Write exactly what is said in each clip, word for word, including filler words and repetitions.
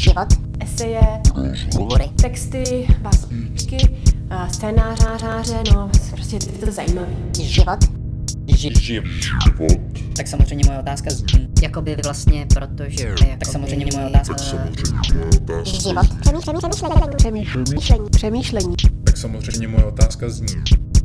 život, eseje, hovory, texty, básničky, scénáře, no prostě je to zajímavý. život, Ži- Život. tak samozřejmě moje otázka z... Jakoby vlastně, protože... Jakoby... Tak samozřejmě moje otázka... život, přemýšlení, přemýšlení, přemýšlení. Tak samozřejmě moje otázka zní.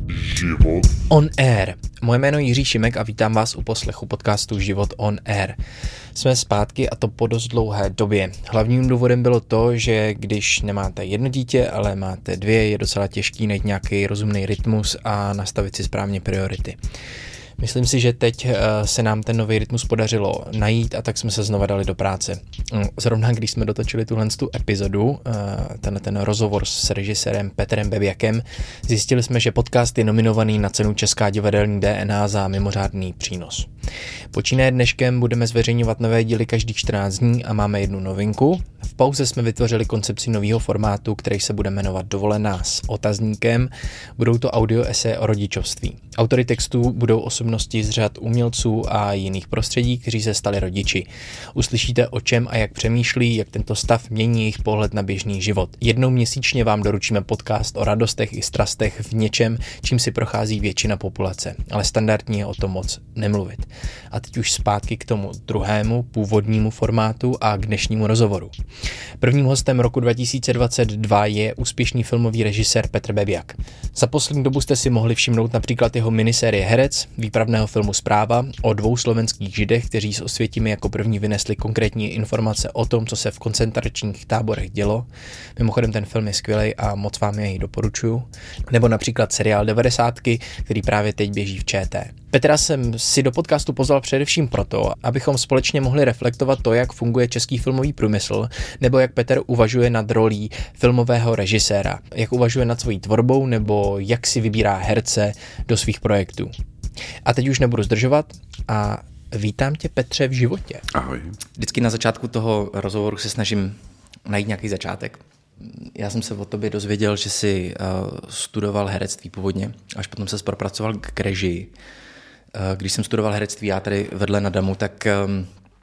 Život. On Air. Moje jméno je Jiří Šimek a vítám vás u poslechu podcastu Život on Air. Jsme zpátky a to po dost dlouhé době. Hlavním důvodem bylo to, že když nemáte jedno dítě, ale máte dvě, je docela těžký najít nějaký rozumný rytmus a nastavit si správně priority. Myslím si, že teď se nám ten nový rytmus podařilo najít a tak jsme se znova dali do práce. Zrovna když jsme dotočili tuhle tu epizodu, ten, ten rozhovor s režisérem Petrem Bebiakem, zjistili jsme, že podcast je nominovaný na cenu Česká divadelní D N A za mimořádný přínos. Počínaje dneškem budeme zveřejňovat nové díly každých čtrnáct dní a máme jednu novinku. V pauze jsme vytvořili koncepci nového formátu, který se bude jmenovat Dovolená s otazníkem. Budou to audio eseje o rodičovství. Autory textů budou osobnosti z řad umělců a jiných prostředí, kteří se stali rodiči. Uslyšíte, o čem a jak přemýšlí, jak tento stav mění jejich pohled na běžný život. Jednou měsíčně vám doručíme podcast o radostech i strastech v něčem, čím si prochází většina populace, ale standardní je o tom moc nemluvit. A teď už zpátky k tomu druhému původnímu formátu a k dnešnímu rozhovoru. Prvním hostem roku dva tisíce dvacet dva je úspěšný filmový režisér Petr Bebiak. Za poslední dobu jste si mohli všimnout například jeho minisérie Herec, výpravného filmu Zpráva o dvou slovenských židech, kteří s Osvětimi jako první vynesli konkrétní informace o tom, co se v koncentračních táborech dělo. Mimochodem ten film je skvělej a moc vám jej doporučuju. Nebo například seriál devadesátky, který právě teď běží v ČT. Petra jsem si do podcastu pozval především proto, abychom společně mohli reflektovat to, jak funguje český filmový průmysl, nebo jak Petr uvažuje nad rolí filmového režiséra, jak uvažuje nad svojí tvorbou, nebo jak si vybírá herce do svých projektů. A teď už nebudu zdržovat a vítám tě, Petře, v životě. Ahoj. Vždycky na začátku toho rozhovoru se snažím najít nějaký začátek. Já jsem se o tobě dozvěděl, že jsi uh, studoval herectví původně, až potom se propracoval k režii. Uh, když jsem studoval herectví já tady vedle na Damu, tak um,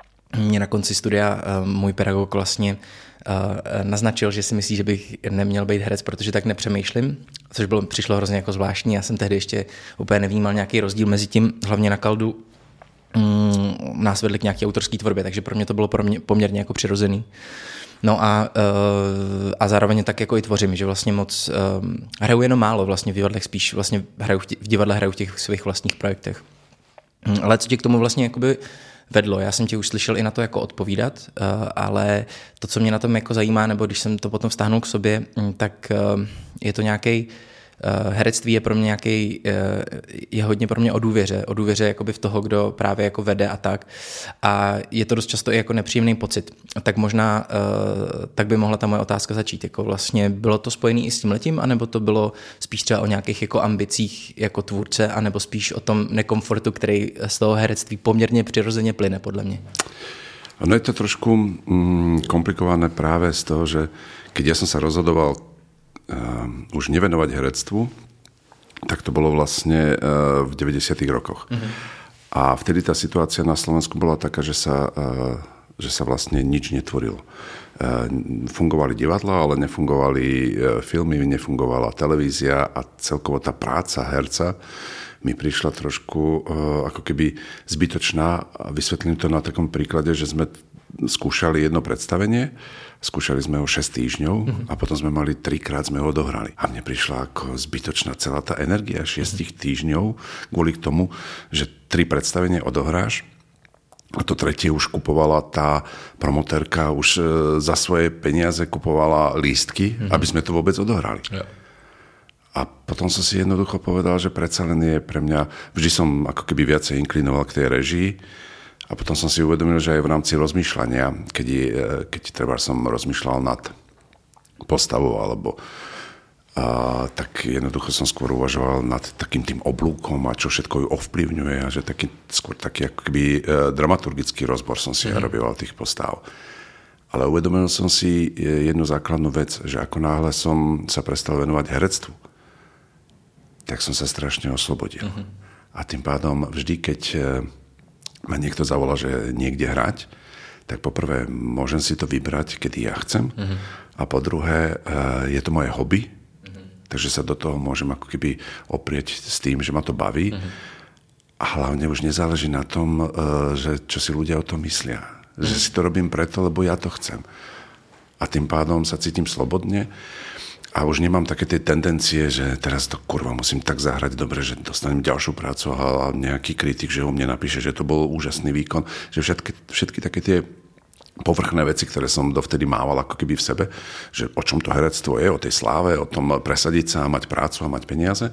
mě na konci studia uh, můj pedagog vlastně uh, naznačil, že si myslí, že bych neměl být herec, protože tak nepřemýšlím, což bylo, přišlo hrozně jako zvláštní. Já jsem tehdy ještě úplně nevnímal nějaký rozdíl mezi tím, hlavně na Kaldu um, nás vedli k nějaké autorské tvorbě, takže pro mě to bylo pro mě poměrně jako přirozený. No a, uh, a zároveň tak jako i tvořím, že vlastně moc um, hraju jenom málo vlastně v divadlech, spíš vlastně hraju v, tě, v divadle hraju v těch svých vlastních projektech. Um, ale co tě k tomu vlastně jakoby vedlo? Já jsem tě už slyšel i na to jako odpovídat, uh, ale to, co mě na tom jako zajímá, nebo když jsem to potom vztáhnul k sobě, um, tak uh, je to nějaký Uh, herectví je pro mě nějaký, uh, je hodně pro mě o důvěře, o důvěře jakoby v toho, kdo právě jako vede a tak. A je to dost často i jako nepříjemný pocit. Tak možná uh, tak by mohla ta moje otázka začít. Jako vlastně bylo to spojený i s tímhletím, anebo to bylo spíš třeba o nějakých jako ambicích jako tvůrce, anebo spíš o tom nekomfortu, který z toho herectví poměrně přirozeně plyne, podle mě? Ono je to trošku mm, komplikované práve z toho, že keď ja som sa rozhodoval Uh, už nevenovať herectvu, tak to bolo vlastne uh, v deväťdesiatych rokoch. Mm-hmm. A vtedy tá situácia na Slovensku bola taká, že sa, uh, že sa vlastne nič netvorilo. Uh, fungovali divadlá, ale nefungovali uh, filmy, nefungovala televízia a celkovo tá práca herca mi prišla trošku uh, ako keby zbytočná. Vysvetlím to na takom príklade, že sme skúšali jedno predstavenie, skúšali sme ho šesť týždňov mm-hmm. a potom sme mali trikrát sme ho dohrali. A mne prišla ako zbytočná celá tá energia šiestich mm-hmm. týždňov kvôli k tomu, že tri predstavenie odohráš a to tretie už kupovala tá promotérka, už za svoje peniaze kupovala lístky, mm-hmm. aby sme to vôbec odohrali. Yeah. A potom som si jednoducho povedal, že predsa len je pre mňa, vždy som ako keby viacej inklinoval k tej režii. A potom som si uvedomil, že aj v rámci rozmýšľania, keď, keď treba som rozmýšľal nad postavou, alebo a, tak jednoducho som skôr uvažoval nad takým tým oblúkom a čo všetko ju ovplyvňuje a že taký, skôr taký ako keby e, dramaturgický rozbor som si mm. robil tých postav. Ale uvedomil som si jednu základnú vec, že ako náhle som sa prestal venovať herectvu, tak som sa strašne oslobodil. Mm-hmm. A tým pádom vždy, keď ma niekto zavolá, že niekde hrať, tak poprvé môžem si to vybrať, kedy ja chcem. Mm-hmm. A po druhé, je to moje hobby, mm-hmm. takže sa do toho môžem ako keby oprieť s tým, že ma to baví. Mm-hmm. A hlavne už nezáleží na tom, že čo si ľudia o tom myslia. Mm-hmm. Že si to robím preto, lebo ja to chcem. A tým pádom sa cítim slobodne a už nemám také tie tendencie, že teraz to kurva musím tak zahrať dobre, že dostanem ďalšiu prácu a nejaký kritik, že o mne napíše, že to bol úžasný výkon. Že všetky, všetky také tie povrchné veci, ktoré som dovtedy mával ako keby v sebe, že o čom to herectvo je, o tej sláve, o tom presadiť sa, mať prácu a mať peniaze,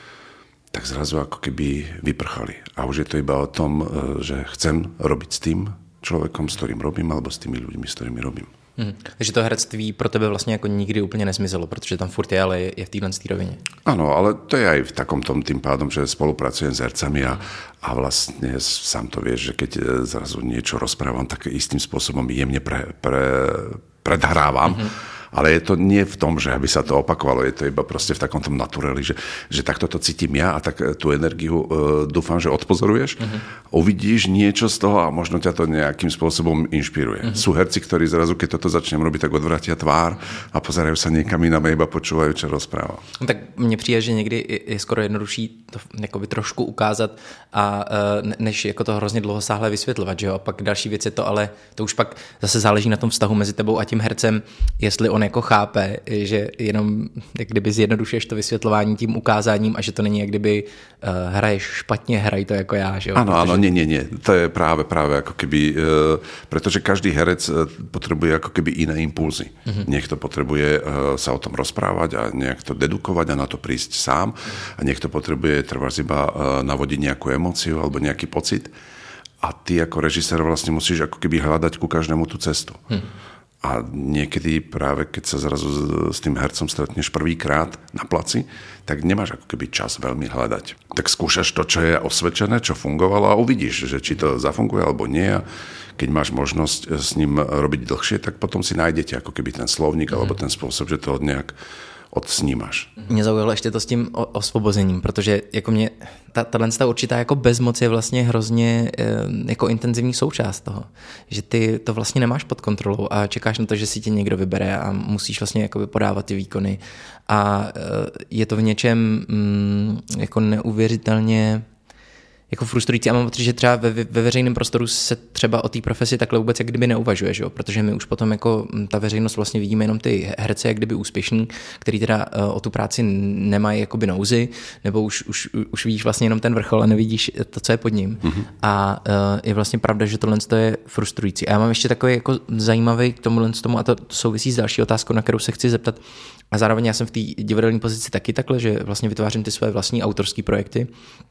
tak zrazu ako keby vyprchali. A už je to iba o tom, že chcem robiť s tým človekom, s ktorým robím, alebo s tými ľuďmi, s ktorými robím. Hmm. Takže to herectví pro tebe vlastně jako nikdy úplně nezmizelo, protože tam furt je, ale je, je v téhle rovině. Áno, ale to je aj v takom tom tým pádom, že spolupracujem s hercami a, a vlastne sám to vieš, že keď zrazu niečo rozprávam, tak istým spôsobom jemne pre, pre, predhrávam. Mm-hmm. Ale je to nie v tom, že aby sa to opakovalo, je to iba proste v takom tom natureli, že, že takto to cítim ja a tak tú energiu uh, dúfam, že odpozoruješ, uh-huh. uvidíš niečo z toho a možno ťa to nejakým spôsobom inšpiruje. Uh-huh. Sú herci, ktorí zrazu, keď toto začnem robiť, tak odvratia tvár a pozerajú sa niekam inám a iba počúvajú, čo rozpráva. No, tak mně přijde, že někdy je skoro jednodušší to jakoby trošku ukázat a uh, než jako to hrozně dlouhosáhle vysvětlovat, že jo? A pak další věc je to, ale to už pak zase záleží na tom vztahu mezi tebou a tím hercem, jestli on jako chápe, že jenom jak kdyby zjednodušuješ to vysvětlování tím ukázáním a že to není jak kdyby uh, hraješ špatně, hraj to jako já, že jo? Áno, áno, nie, nie, nie. To je práve, práve ako keby, uh, pretože každý herec uh, potrebuje ako keby iné impulzy. Uh-huh. Niekto potrebuje uh, sa o tom rozprávať a nejak to dedukovať a na to prísť sám uh-huh. a niekto potrebuje trebárs iba uh, navodiť nejakú emóciu alebo nejaký pocit a ty ako režisér vlastne musíš ako keby hľadať ku každému tú cestu. Uh-huh. A niekedy práve, keď sa zrazu s tým hercom stretneš prvýkrát na placi, tak nemáš ako keby čas veľmi hľadať. Tak skúšaš to, čo je osvedčené, čo fungovalo a uvidíš, že či to zafunguje alebo nie. A keď máš možnosť s ním robiť dlhšie, tak potom si nájdete ako keby ten slovník mm. alebo ten spôsob, že to nejak odsnímáš. Mě zaujalo ještě to s tím osvobozením, protože jako mě ta, ta určitá jako bezmoc je vlastně hrozně jako intenzivní součást toho, že ty to vlastně nemáš pod kontrolou a čekáš na to, že si tě někdo vybere a musíš vlastně jako podávat ty výkony a je to v něčem jako neuvěřitelně jako frustrující a mám pocit, že třeba ve, ve veřejném prostoru se třeba o té profesi takhle vůbec jak kdyby neuvažuje, že jo? Protože my už potom jako ta veřejnost vlastně vidíme jenom ty herce jak kdyby úspěšný, který teda uh, o tu práci nemají jakoby nouzy, nebo už, už, už vidíš vlastně jenom ten vrchol a nevidíš to, co je pod ním. Mm-hmm. A uh, je vlastně pravda, že tohle je frustrující. A já mám ještě takový jako zajímavý k tomuhle tomu a to souvisí s další otázkou, na kterou se chci zeptat. A zároveň já jsem v té divadelní pozici taky takhle, že vlastně vytvářím ty své vlastní autorské projekty.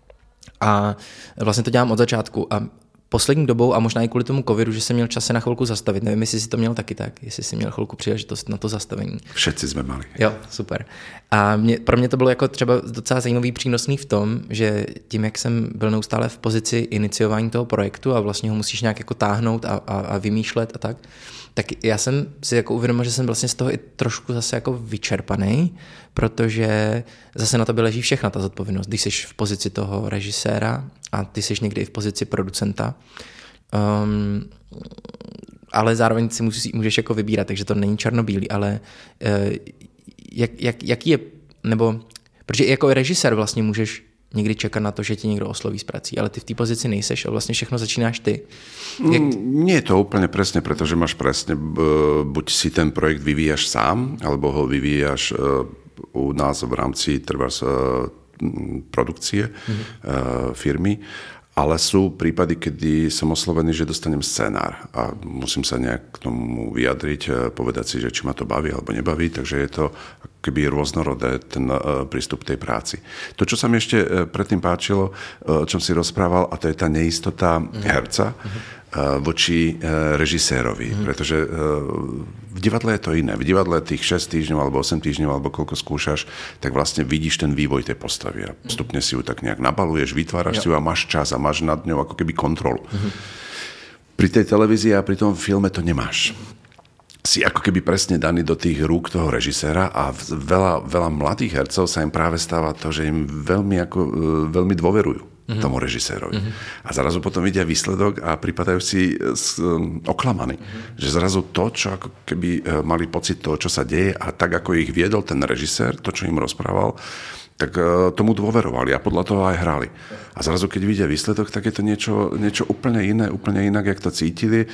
A vlastně to dělám od začátku a poslední dobou a možná i kvůli tomu covidu, že jsem měl čas se na chvilku zastavit. Nevím, jestli si to měl taky tak, jestli jsi měl chvilku příležitost na to zastavení. Všetci jsme mali. Jo, super. A mě, pro mě to bylo jako třeba docela zajímavý, přínosný v tom, že tím, jak jsem byl neustále v pozici iniciování toho projektu a vlastně ho musíš nějak jako táhnout a, a, a vymýšlet a tak, tak já jsem si jako uvědomil, že jsem vlastně z toho i trošku zase jako vyčerpaný, protože zase na tobě leží všechna ta zodpovědnost. Když jsi v pozici toho režiséra a ty jsi někdy i v pozici producenta, um, ale zároveň si musí, můžeš jako vybírat, takže to není černobílý, ale uh, jak, jak, jaký je, nebo protože jako režisér vlastně můžeš někdy čekat na to, že ti někdo osloví s prací, ale ty v té pozici nejseš a vlastně všechno začínáš ty. Jak... Nie je to úplne presne, pretože máš presne, buď si ten projekt vyvíjaš sám, alebo ho vyvíjaš u nás v rámci trebárs produkcie mm-hmm. firmy, ale sú prípady, kedy som oslovený, že dostanem scénár a musím sa nejak k tomu vyjadriť, povedať si, že či ma to baví alebo nebaví, takže je to keby rôznorodé ten prístup k tej práci. To, čo sa mi ešte predtým páčilo, o čom si rozprával, a to je tá neistota mm. herca mm. voči režisérovi, mm. pretože v divadle je to iné. V divadle tých šesť týždňov alebo osem týždňov alebo koľko skúšaš, tak vlastne vidíš ten vývoj tej postavy a postupne si ju tak nejak nabaluješ, vytváraš si ju a máš čas a máš nad ňou ako keby kontrolu. Mm. Pri tej televízii a pri tom filme to nemáš. Si ako keby presne daný do tých rúk toho režiséra a veľa, veľa mladých hercov sa im práve stáva to, že im veľmi, ako, veľmi dôverujú. mm-hmm. tomu režisérovi. Mm-hmm. A zrazu potom vidia výsledok a pripadajú si um, oklamaní. Mm-hmm. Že zrazu to, čo ako keby uh, mali pocit toho, čo sa deje a tak, ako ich viedol ten režisér, to, čo im rozprával, tak uh, tomu dôverovali a podľa toho aj hrali. A zrazu, keď vidia výsledok, tak je to niečo, niečo úplne iné, úplne inak, jak to cítili.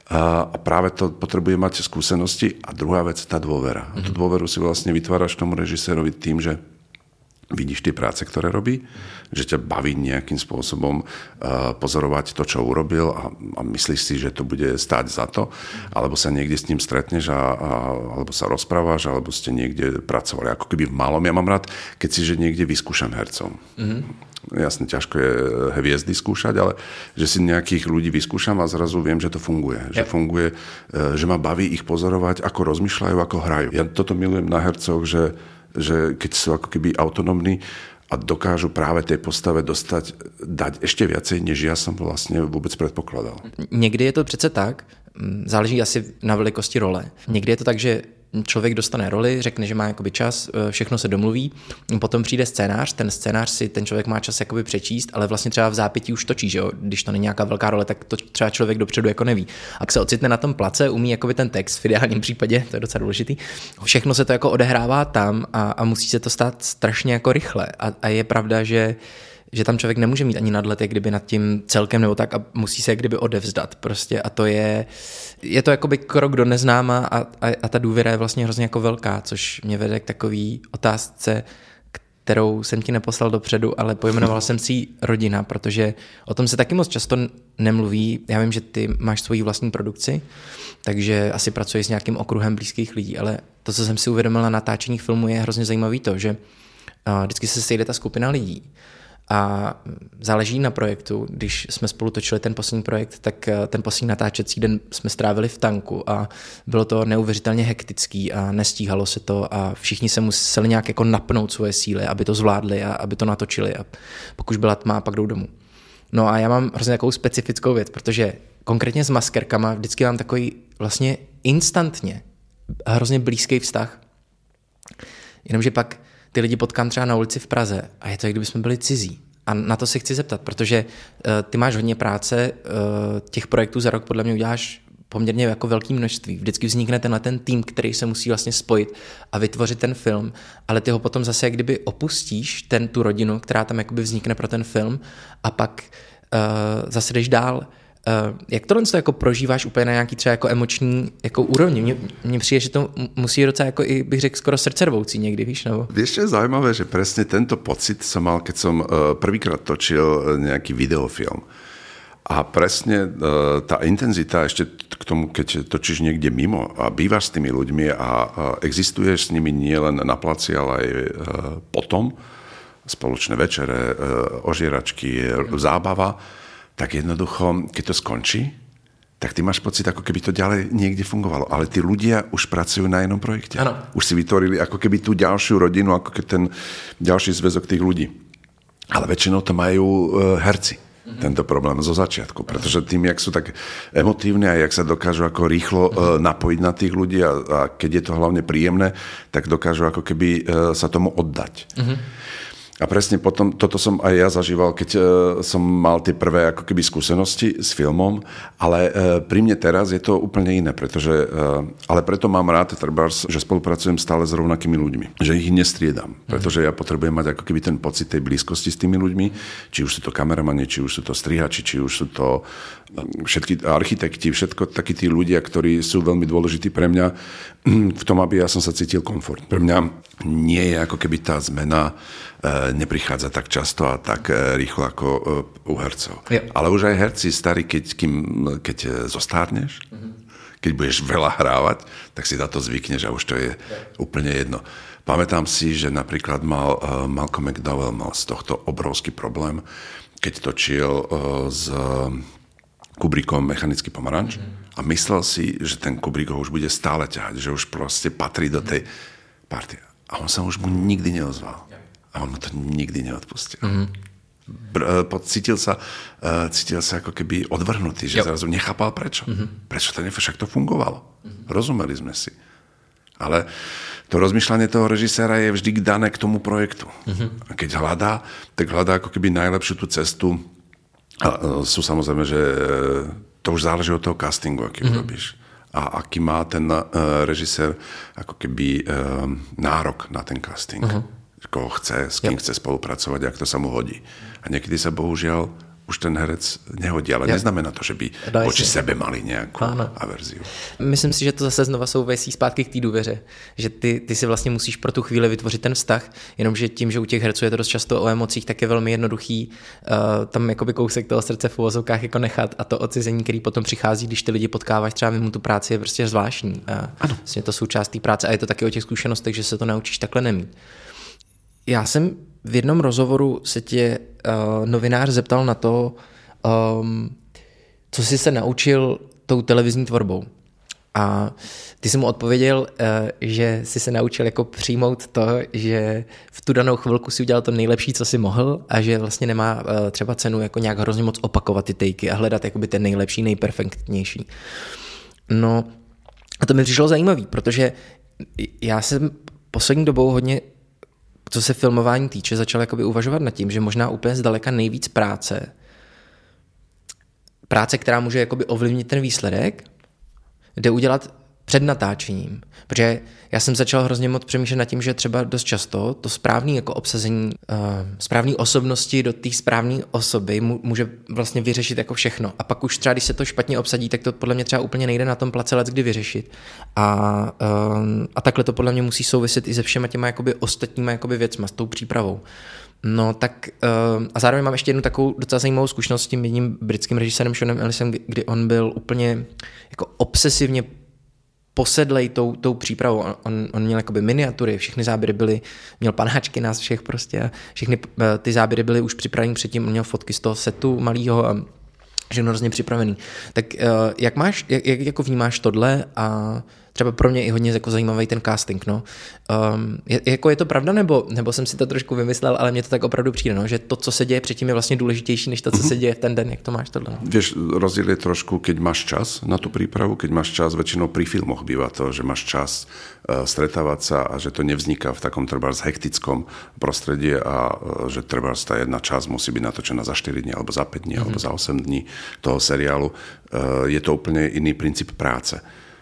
A práve to potrebuje mať skúsenosti. A druhá vec, tá dôvera. A tú dôveru si vlastne vytváraš tomu režisérovi tým, že vidíš tie práce, ktoré robí, že ťa baví nejakým spôsobom pozorovať to, čo urobil a, a myslíš si, že to bude stáť za to, alebo sa niekde s ním stretneš a, a, alebo sa rozprávaš, alebo ste niekde pracovali ako keby v malom. Ja mám rád, keď si, že niekde vyskúšam hercom. Mm-hmm. Jasne, ťažko je hviezdy skúšať, ale že si nejakých ľudí vyskúšam a zrazu viem, že to funguje. Že yep. funguje, že ma baví ich pozorovať, ako rozmýšľajú, ako hrajú. Ja toto milujem na hercoch, že, že keď sú ako keby autonómni a dokážu práve tej postave dostať, dať ešte viacej, než ja som vlastne vôbec predpokladal. Někdy je to přece tak, záleží asi na velikosti role. Někdy je to tak, že člověk dostane roli, řekne, že má jakoby čas, všechno se domluví, potom přijde scénář, ten scénář si ten člověk má čas jakoby přečíst, ale vlastně třeba v zápětí už točí, že jo? Když to není nějaká velká role, tak to třeba člověk dopředu jako neví. A jak se ocitne na tom place, umí jakoby ten text, v ideálním případě, to je docela důležitý, všechno se to jako odehrává tam a, a musí se to stát strašně jako rychle. A, a je pravda, že že tam člověk nemůže mít ani nadhled, jak kdyby nad tím celkem nebo tak a musí se jak kdyby odevzdat prostě a to je, je to jakoby krok do neznáma a, a, a ta důvěra je vlastně hrozně jako velká, což mě vede k takový otázce, kterou jsem ti neposlal dopředu, ale pojmenoval jsem si ji rodina, protože o tom se taky moc často nemluví. Já vím, že ty máš svoji vlastní produkci, takže asi pracuješ s nějakým okruhem blízkých lidí, ale to, co jsem si uvědomil na natáčení filmu, je hrozně zajímavý to, že vždycky se sejde ta skupina lidí. A záleží na projektu. Když jsme spolu točili ten poslední projekt, tak ten poslední natáčecí den jsme strávili v tanku a bylo to neuvěřitelně hektický a nestíhalo se to a všichni se museli nějak jako napnout svoje síly, aby to zvládli a aby to natočili a pokud už byla tma, pak jdou domů. No a já mám hrozně takovou specifickou věc, protože konkrétně s maskerkama vždycky mám takový vlastně instantně hrozně blízký vztah. Jenomže pak ty lidi potkám třeba na ulici v Praze a je to, jak kdyby jsme byli cizí. A na to se chci zeptat, protože uh, ty máš hodně práce, uh, těch projektů za rok podle mě uděláš poměrně jako velké množství. Vždycky vznikne tenhle ten tým, který se musí vlastně spojit a vytvořit ten film, ale ty ho potom zase jak kdyby opustíš, ten, tu rodinu, která tam jakoby vznikne pro ten film a pak uh, zase jdeš dál. Uh, jak tohle to jako prožíváš úplně na nějaký třeba jako emoční jako úrovni? Mně, mně přijde, že to musí docela jako i bych řekl skoro srdcervoucí někdy, víš? Nebo? Vieš, čo je zaujímavé, že presne tento pocit som mal, keď som uh, prvýkrát točil nejaký videofilm. A presne uh, tá intenzita ešte k tomu, keď točíš niekde mimo a bývaš s tými ľuďmi a uh, existuješ s nimi nielen na placi, ale aj uh, potom, spoločné večere, uh, ožieračky, zábava, tak jednoducho, keď to skončí, tak ty máš pocit, ako keby to ďalej niekde fungovalo. Ale tí ľudia už pracujú na jednom projekte. Ano. Už si vytvorili ako keby tú ďalšiu rodinu, ako keby ten ďalší zväzok tých ľudí. Ale väčšinou to majú uh, herci. Mm-hmm. Tento problém zo začiatku. Pretože tým, jak sú tak emotívni a jak sa dokážu ako rýchlo uh, napojiť na tých ľudí a, a keď je to hlavne príjemné, tak dokážu ako keby uh, sa tomu oddať. Mm-hmm. A presne potom, toto som aj ja zažíval, keď uh, som mal tie prvé ako keby skúsenosti s filmom, ale uh, pri mne teraz je to úplne iné, pretože, uh, ale preto mám rád, trebárs, že spolupracujem stále s rovnakými ľuďmi, že ich nestriedam, pretože ja potrebujem mať ako keby ten pocit tej blízkosti s tými ľuďmi, či už sú to kameramani, či už sú to strihači, či už sú to všetky architekti, všetko takí tí ľudia, ktorí sú veľmi dôležití pre mňa v tom, aby ja som sa cítil komfort. Pre mňa nie je ako keby tá zmena neprichádza tak často a tak rýchlo ako u hercov. Ja. Ale už aj herci starí, keď, kým, keď zostárneš, mm-hmm. keď budeš veľa hrávať, tak si na to zvykneš a už to je ja. úplne jedno. Pamätám si, že napríklad mal uh, Malcolm McDowell mal z tohto obrovský problém, keď točil uh, s Kubrickom Mechanický pomaranč mm-hmm. a myslel si, že ten Kubrick ho už bude stále ťahať, že už proste patrí do tej partie. A on sa už mu nikdy neozval. A on mu to nikdy neodpustil. Mm-hmm. Cítil sa, cítil sa ako keby odvrhnutý, že jo. zrazu nechápal prečo. Mm-hmm. Prečo to nefo, však to fungovalo. Mm-hmm. Rozumeli sme si. Ale to rozmýšľanie toho režiséra je vždy dané k tomu projektu. Uh-huh. A keď hľadá, tak hľadá ako keby najlepšiu tú cestu. A sú samozrejme, že to už záleží od toho castingu, aký uh-huh. urobíš. A aký má ten uh, režisér ako keby uh, nárok na ten casting. Uh-huh. Koho chce, s kým yep. chce spolupracovať, ak to sa mu hodí. A niekedy sa bohužiaľ už ten herec nehodí, ale yep. neznamená to, že by voči sebe mali nějakou ano. averziu. Myslím si, že to zase znova souvisí zpátky k té důvěře, že ty, ty si vlastně musíš pro tu chvíli vytvořit ten vztah, jenomže tím, že u těch herců je to dost často o emocích, tak je velmi jednoduchý uh, tam jakoby kousek toho srdce v uvozovkách jako nechat a to odcizení, který potom přichází, když ty lidi potkáváš třeba mimo tu práci, je prostě zvláštní. A ano. Vlastně to součást té práce a je to taky o těch zkušenostech, že se to naučíš takhle nemít. Já jsem v jednom rozhovoru se tě uh, novinář zeptal na to, um, co jsi se naučil tou televizní tvorbou. A ty jsi mu odpověděl, uh, že jsi se naučil jako přijmout to, že v tu danou chvilku si udělal to nejlepší, co jsi mohl a že vlastně nemá uh, třeba cenu jako nějak hrozně moc opakovat ty tejky a hledat jakoby ten nejlepší, nejperfektnější. No a to mi přišlo zajímavý, protože já jsem poslední dobou hodně, co se filmování týče, začal jakoby uvažovat nad tím, že možná úplně zdaleka nejvíc práce, práce, která může jakoby ovlivnit ten výsledek, jde udělat před natáčením. Protože já jsem začal hrozně moc přemýšlet nad tím, že třeba dost často to správné jako obsazení uh, správné osobnosti do té správné osoby může vlastně vyřešit jako všechno. A pak už třeba, když se to špatně obsadí, tak to podle mě třeba úplně nejde na tom place leckdy vyřešit. A, uh, a takhle to podle mě musí souviset i se všema těma jakoby ostatníma jakoby věcma, s tou přípravou. No tak uh, a zároveň mám ještě jednu takovou docela zajímavou zkušenost s tím jedním britským režisérem Seanem Ellisem, kdy, kdy on byl úplně jako obsesivně posedlej tou, tou přípravou. On, on měl jakoby miniatury, všechny záběry byly, měl panáčky nás všech prostě a všechny ty záběry byly už připraveny předtím, on měl fotky z toho setu malýho a všechno hrozně připravený. Tak jak máš, jak, jak jako vnímáš tohle a třeba pro mě i hodně jako zajímavý ten casting, no. Um, je, jako je to pravda, nebo, nebo jsem si to trošku vymyslel, ale mně to tak opravdu přijde, no, že to, co se děje předtím, je vlastně důležitější, než to, co se děje v ten den, jak to máš tohle. No? Vieš, rozdiel je trošku, keď máš čas na tú prípravu, keď máš čas, väčšinou pri filmoch býva to, že máš čas uh, stretávať sa a že to nevzniká v takom trebárs hektickom prostredí a uh, že trebárs tá jedna časť musí byť natočená za štyri dní alebo za päť dní mm-hmm. alebo za osem dní toho seriálu. Uh, je to úplne iný princíp práce.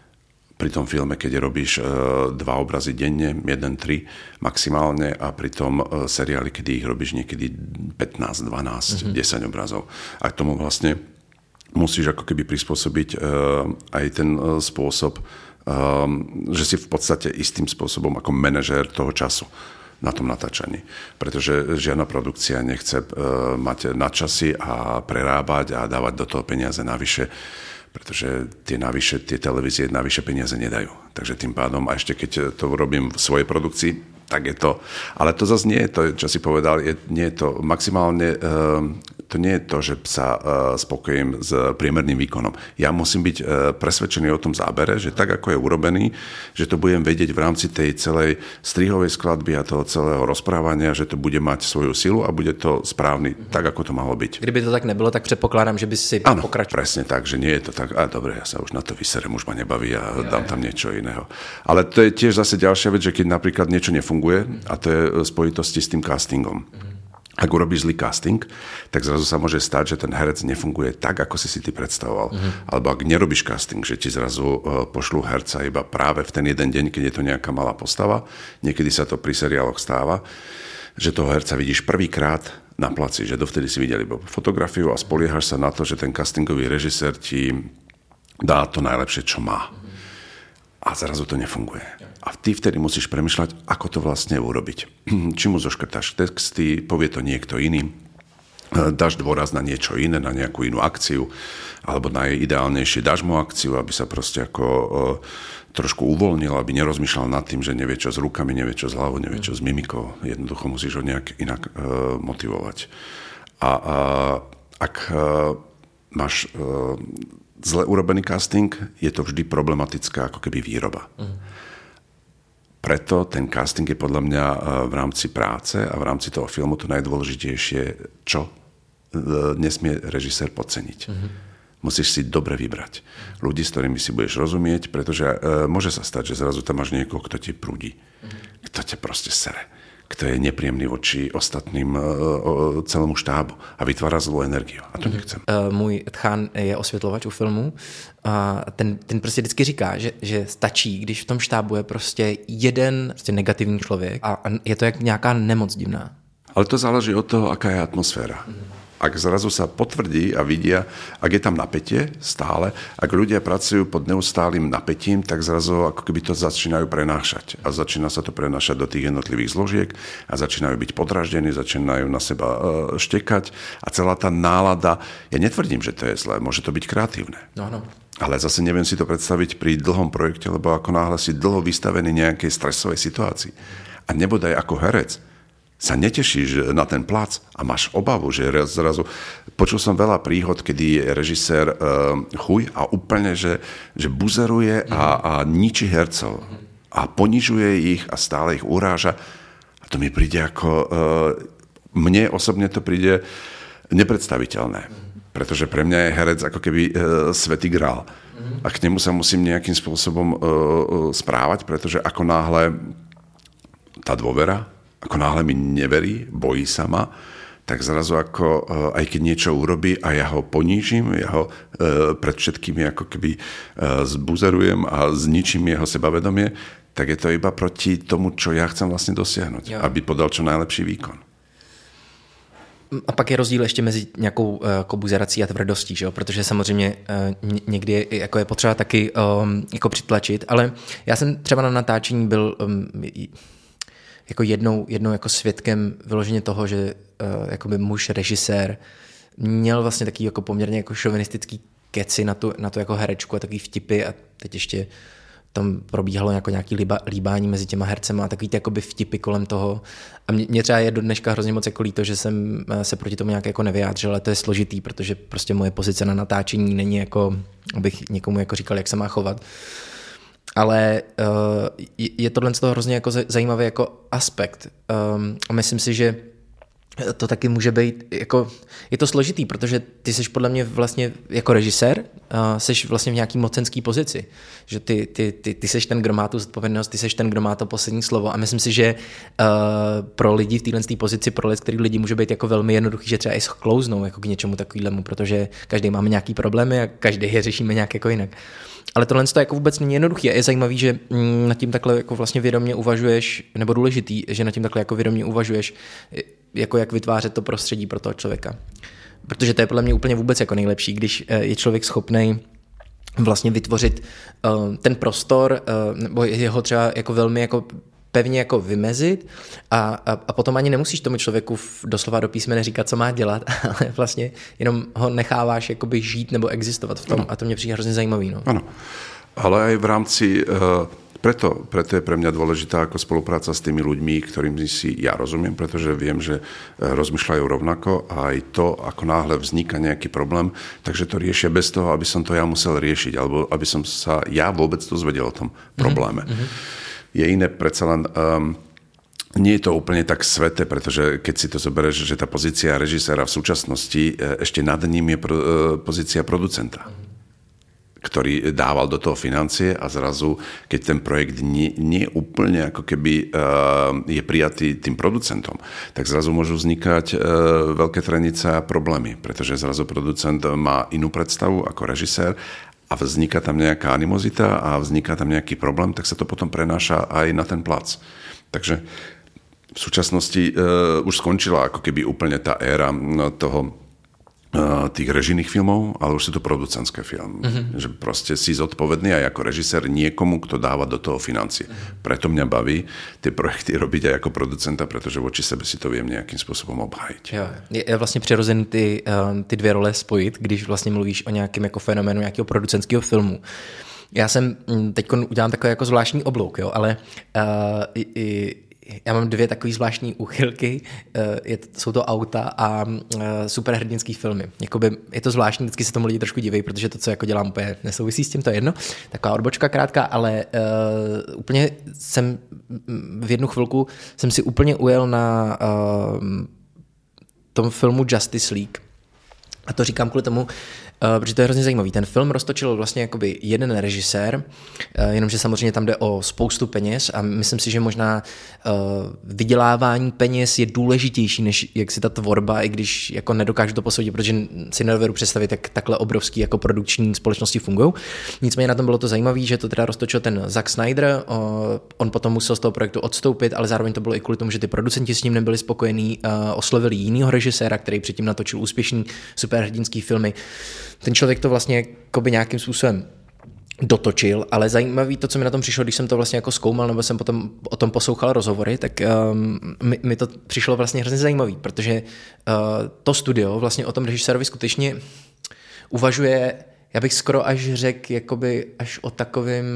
Pri tom filme, keď robíš uh, dva obrazy denne, jeden, tri maximálne a pri tom uh, seriáli, kedy ich robíš niekedy pätnásť, dvanásť, mm-hmm. desať obrazov. A k tomu vlastne musíš ako keby prispôsobiť uh, aj ten uh, spôsob, uh, že si v podstate istým spôsobom ako manažér toho času na tom natáčaní. Pretože žiadna produkcia nechce uh, mať nadčasy a prerábať a dávať do toho peniaze navyše, pretože tie navyše, tie televízie navyše peniaze nedajú. Takže tým pádom, a ešte keď to robím v svojej produkcii, tak je to, ale to zase nie je to, čo si povedal, je, nie je to maximálne, uh, to nie je to, že sa uh, spokojím s priemerným výkonom. Ja musím byť uh, presvedčený o tom zábere, že tak, ako je urobený, že to budem vedieť v rámci tej celej strihovej skladby a toho celého rozprávania, že to bude mať svoju silu a bude to správny, mm-hmm. tak, ako to malo byť. Kdyby to tak nebylo, tak předpokládám, že by si ano, pokračoval. Presne tak, že nie je to tak, a dobre, ja sa už na to vyserem, už ma nebaví a ja, dám tam niečo iného. Ale to je tiež zase ďalšia vec, že keď napríklad niečo nefunguje, a to je v spojitosti s tým castingom. Ak urobíš zlý casting, tak zrazu sa môže stať, že ten herec nefunguje tak, ako si si ty predstavoval. Uh-huh. Alebo ak nerobíš casting, že ti zrazu pošlú herca iba práve v ten jeden deň, keď je to nejaká malá postava, niekedy sa to pri seriáloch stáva, že toho herca vidíš prvýkrát na placi, že dovtedy si videli iba fotografiu a spoliehaš sa na to, že ten castingový režisér ti dá to najlepšie, čo má. A zrazu to nefunguje. A ty vtedy musíš premýšľať, ako to vlastne urobiť. Či mu zoškrtáš texty, povie to niekto iný, dáš dôraz na niečo iné, na nejakú inú akciu, alebo najideálnejšie dáš mu akciu, aby sa proste ako uh, trošku uvoľnil, aby nerozmýšľal nad tým, že nevie čo s rukami, nevie čo s hlavou, nevie čo s mimikou. Jednoducho musíš ho nejak inak uh, motivovať. A uh, ak uh, máš uh, zle urobený casting, je to vždy problematická ako keby výroba. Uh-huh. Preto ten casting je podľa mňa v rámci práce a v rámci toho filmu to najdôležitejšie, čo nesmie režisér podceniť. Uh-huh. musíš si dobre vybrať ľudí, s ktorými si budeš rozumieť, pretože e, môže sa stať, že zrazu tam máš niekoho, kto ti prúdi, kto ťa proste sere, kto je nepríjemný voči ostatným e, o, celému štábu a vytvára zlou energiu. A to nechcem. Uh, můj tchán je osvětlovač u filmu a ten, ten prostě vždycky říká, že, že stačí, když v tom štábu je prostě jeden prostě negativní člověk a, a je to jak nějaká nemoc divná. Ale to záleží od toho, aká je atmosféra. Ak zrazu sa potvrdí a vidia, ak je tam napätie stále, ak ľudia pracujú pod neustálým napätím, tak zrazu ako keby to začínajú prenášať. A začína sa to prenášať do tých jednotlivých zložiek a začínajú byť podraždení, začínajú na seba štekať a celá tá nálada, ja netvrdím, že to je zlé, môže to byť kreatívne. No, no. Ale zase neviem si to predstaviť pri dlhom projekte, lebo ako náhle si dlho vystavený nejakej stresovej situácii a nebodaj ako herec, sa netešíš na ten plac a máš obavu, že zrazu... Počul som veľa príhod, kedy je režisér uh, chuj a úplne, že, že buzeruje a, a ničí hercov a ponižuje ich a stále ich uráža. A to mi príde ako... Uh, mne osobne to príde nepredstaviteľné, pretože pre mňa je herec ako keby uh, svätý grál. A k nemu sa musím nejakým spôsobom uh, správať, pretože ako náhle tá dôvera, ako náhle mi neverí, bojí sa ma, tak zrazu ako, aj keď niečo urobí a ja ho ponížim, ja ho e, pred všetkými ako keby e, zbuzerujem a zničím jeho sebavedomie, tak je to iba proti tomu, čo ja chcem vlastne dosiahnuť, jo. Aby podal čo najlepší výkon. A pak je rozdíl ještě mezi nějakou jako buzerací a tvrdostí, že jo? Protože samozřejmě někdy je, jako je potřeba taky um, jako přitlačit, ale já jsem třeba na natáčení byl um, jako jednou, jednou jako svědkem vyloženě toho, že uh, jakoby muž režisér měl vlastně takový jako poměrně jako šovinistický keci na tu, na tu jako herečku a takový vtipy a teď ještě tam probíhalo jako nějaký líba, líbání mezi těma hercema a takový ty jakoby vtipy kolem toho. A mě, mě třeba je do dneška hrozně moc jako líto, že jsem se proti tomu nějak jako nevyjádřil, ale to je složitý, protože prostě moje pozice na natáčení není jako, abych někomu jako říkal, jak se má chovat. Ale uh, je tohle z toho hrozně jako zajímavý jako aspekt. Um, a myslím si, že to taky může být, jako, je to složitý, protože ty seš podle mě vlastně jako režisér, uh, seš vlastně v nějaký mocenský pozici, že ty, ty, ty, ty seš ten, kdo má tu zodpovědnost, ty seš ten, kdo má to poslední slovo a myslím si, že uh, pro lidi v téhle pozici, pro lidi, který lidi může být jako velmi jednoduchý, že třeba i sklouznou jako k něčemu takovému, protože každý máme nějaký problémy a každý je řešíme nějak jako jinak. Ale tohle to jako vůbec není jednoduchý a je zajímavý, že nad tím takhle jako vlastně vědomě uvažuješ, nebo důležitý, že nad tím takhle jako vědomě uvažuješ, jako jak vytvářet to prostředí pro toho člověka. Protože to je podle mě úplně vůbec jako nejlepší, když je člověk schopnej vlastně vytvořit uh, ten prostor, uh, nebo jeho třeba jako velmi jako pevně jako vymezit a, a, a potom ani nemusíš tomu člověku doslova do písmene říkat, co má dělat, ale vlastně jenom ho necháváš jakoby žít nebo existovat v tom ano. A to mě přijde hrozně zajímavý. No. Ano, ale aj v rámci, uh, preto, preto je pre mňa dôležitá ako spolupráca s tými ľuďmi, ktorým si ja rozumiem, pretože viem, že rozmýšľajú rovnako a aj to, ako náhle vzniká nejaký problém, takže to riešia bez toho, aby som to ja musel riešiť, alebo aby som sa ja vôbec dozvedel o tom probléme. Mm-hmm. Je iné predsa len... Um, nie je to úplne tak sveté, pretože keď si to zoberieš, že tá pozícia režiséra v súčasnosti, ešte nad ním je pro, pozícia producenta, ktorý dával do toho financie a zrazu, keď ten projekt nie, nie úplne ako keby uh, je prijatý tým producentom, tak zrazu môžu vznikať uh, veľké trenice a problémy, pretože zrazu producent má inú predstavu ako režisér a vzniká tam nejaká animozita a vzniká tam nejaký problém, tak sa to potom prenáša aj na ten plac. Takže v súčasnosti uh, už skončila ako keby úplne tá éra toho uh, tých režijných filmov, ale už sú to producentské filmy. Mm-hmm. Že proste si zodpovedný aj ako režisér niekomu, kto dáva do toho financie. Mm-hmm. Preto mňa baví tie projekty robiť aj ako producenta, pretože voči sebe si to viem nejakým spôsobom obhájiť. Jo, je vlastně přirozený ty, uh, ty dvě role spojit, když vlastně mluvíš o nějakém jako fenoménu nějakého producentského filmu. Já jsem, teď udělám takový jako zvláštní oblouk, jo, ale uh, i, i, já mám dvě takové zvláštní úchylky, je, jsou to auta a superhrdinský filmy. Jakoby je to zvláštní, vždycky se tomu lidi trošku diví, protože to, co jako dělám, úplně nesouvisí s tím, to je jedno. Taková odbočka krátká, ale uh, úplně jsem v jednu chvilku jsem si úplně ujel na uh, tom filmu Justice League. A to říkám kvůli tomu, Uh, protože to je hrozně zajímavý. Ten film roztočil vlastně jakoby jeden režisér, uh, jenomže samozřejmě tam jde o spoustu peněz a myslím si, že možná uh, vydělávání peněz je důležitější, než jak si ta tvorba, i když jako nedokážu to posoudit, protože si nedovedu představit, jak takhle obrovský jako produkční společnosti fungují. Nicméně na tom bylo to zajímavé, že to teda roztočil ten Zack Snyder, uh, on potom musel z toho projektu odstoupit, ale zároveň to bylo i kvůli tomu, že ty producenti s ním nebyli spokojení, uh, oslovili jinýho režiséra, který předtím natočil úspěšný superhrdinský filmy. Ten člověk to vlastně jakoby nějakým způsobem dotočil, ale zajímavý to, co mi na tom přišlo, když jsem to vlastně jako zkoumal, nebo jsem potom o tom poslouchal rozhovory, tak um, mi, mi to přišlo vlastně hrozně zajímavý, protože uh, to studio vlastně o tom režisérovi skutečně uvažuje, já bych skoro až řekl, jakoby až o takovým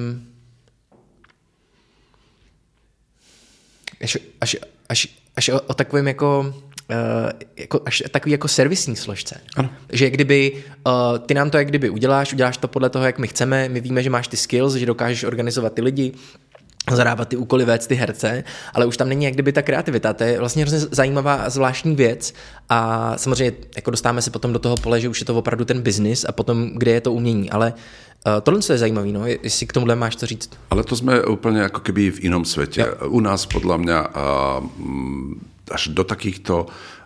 až, až, až, až o, o takovým jako Uh, jako, až takový jako servisní složce. Ano. Že kdyby uh, ty nám to jak kdyby uděláš, uděláš to podle toho, jak my chceme, my víme, že máš ty skills, že dokážeš organizovat ty lidi, zadávat ty úkoly, vést ty herce, ale už tam není jak kdyby ta kreativita. To je vlastně hrozně zajímavá a zvláštní věc a samozřejmě jako dostáváme se potom do toho pole, že už je to opravdu ten biznis a potom, kde je to umění, ale uh, tohle je zajímavé, no, jestli k tomuhle máš co říct. Ale to jsme úplně jako keby v inom svete. Jo. U nás podľa mňa uh, až do takýchto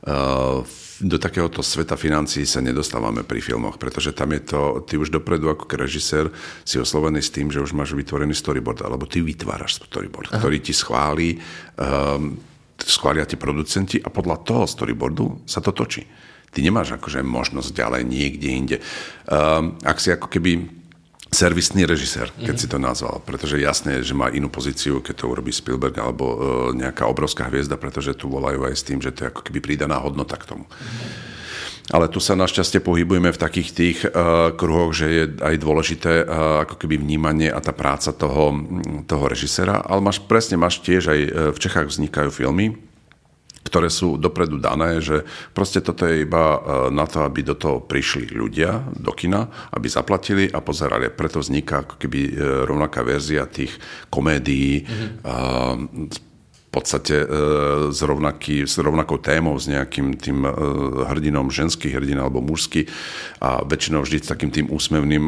do takéhoto sveta financií sa nedostávame pri filmoch, pretože tam je to, ty už dopredu ako režisér si oslovený s tým, že už máš vytvorený storyboard, alebo ty vytváraš storyboard, Aha. ktorý ti schválí, um, schvália ti producenti a podľa toho storyboardu sa to točí. Ty nemáš akože možnosť ďalej niekde inde. Um, ak si ako keby servisný režisér, keď mm-hmm. si to nazval, pretože jasné, že má inú pozíciu, keď to urobí Spielberg alebo uh, nejaká obrovská hviezda, pretože tu volajú aj s tým, že to je ako keby pridaná hodnota k tomu. Mm-hmm. Ale tu sa našťastie pohybujeme v takých tých uh, kruhoch, že je aj dôležité uh, ako keby vnímanie a tá práca toho, toho režiséra, ale máš presne, máš tiež aj v Čechách vznikajú filmy, ktoré sú dopredu dané, že proste toto je iba na to, aby do toho prišli ľudia do kina, aby zaplatili a pozerali. Preto vzniká ako keby rovnaká verzia tých komédií, mm-hmm. v podstate s, rovnaký, s rovnakou témou, s nejakým tým hrdinom, ženský hrdin alebo mužský a väčšinou vždy s takým tým úsmevným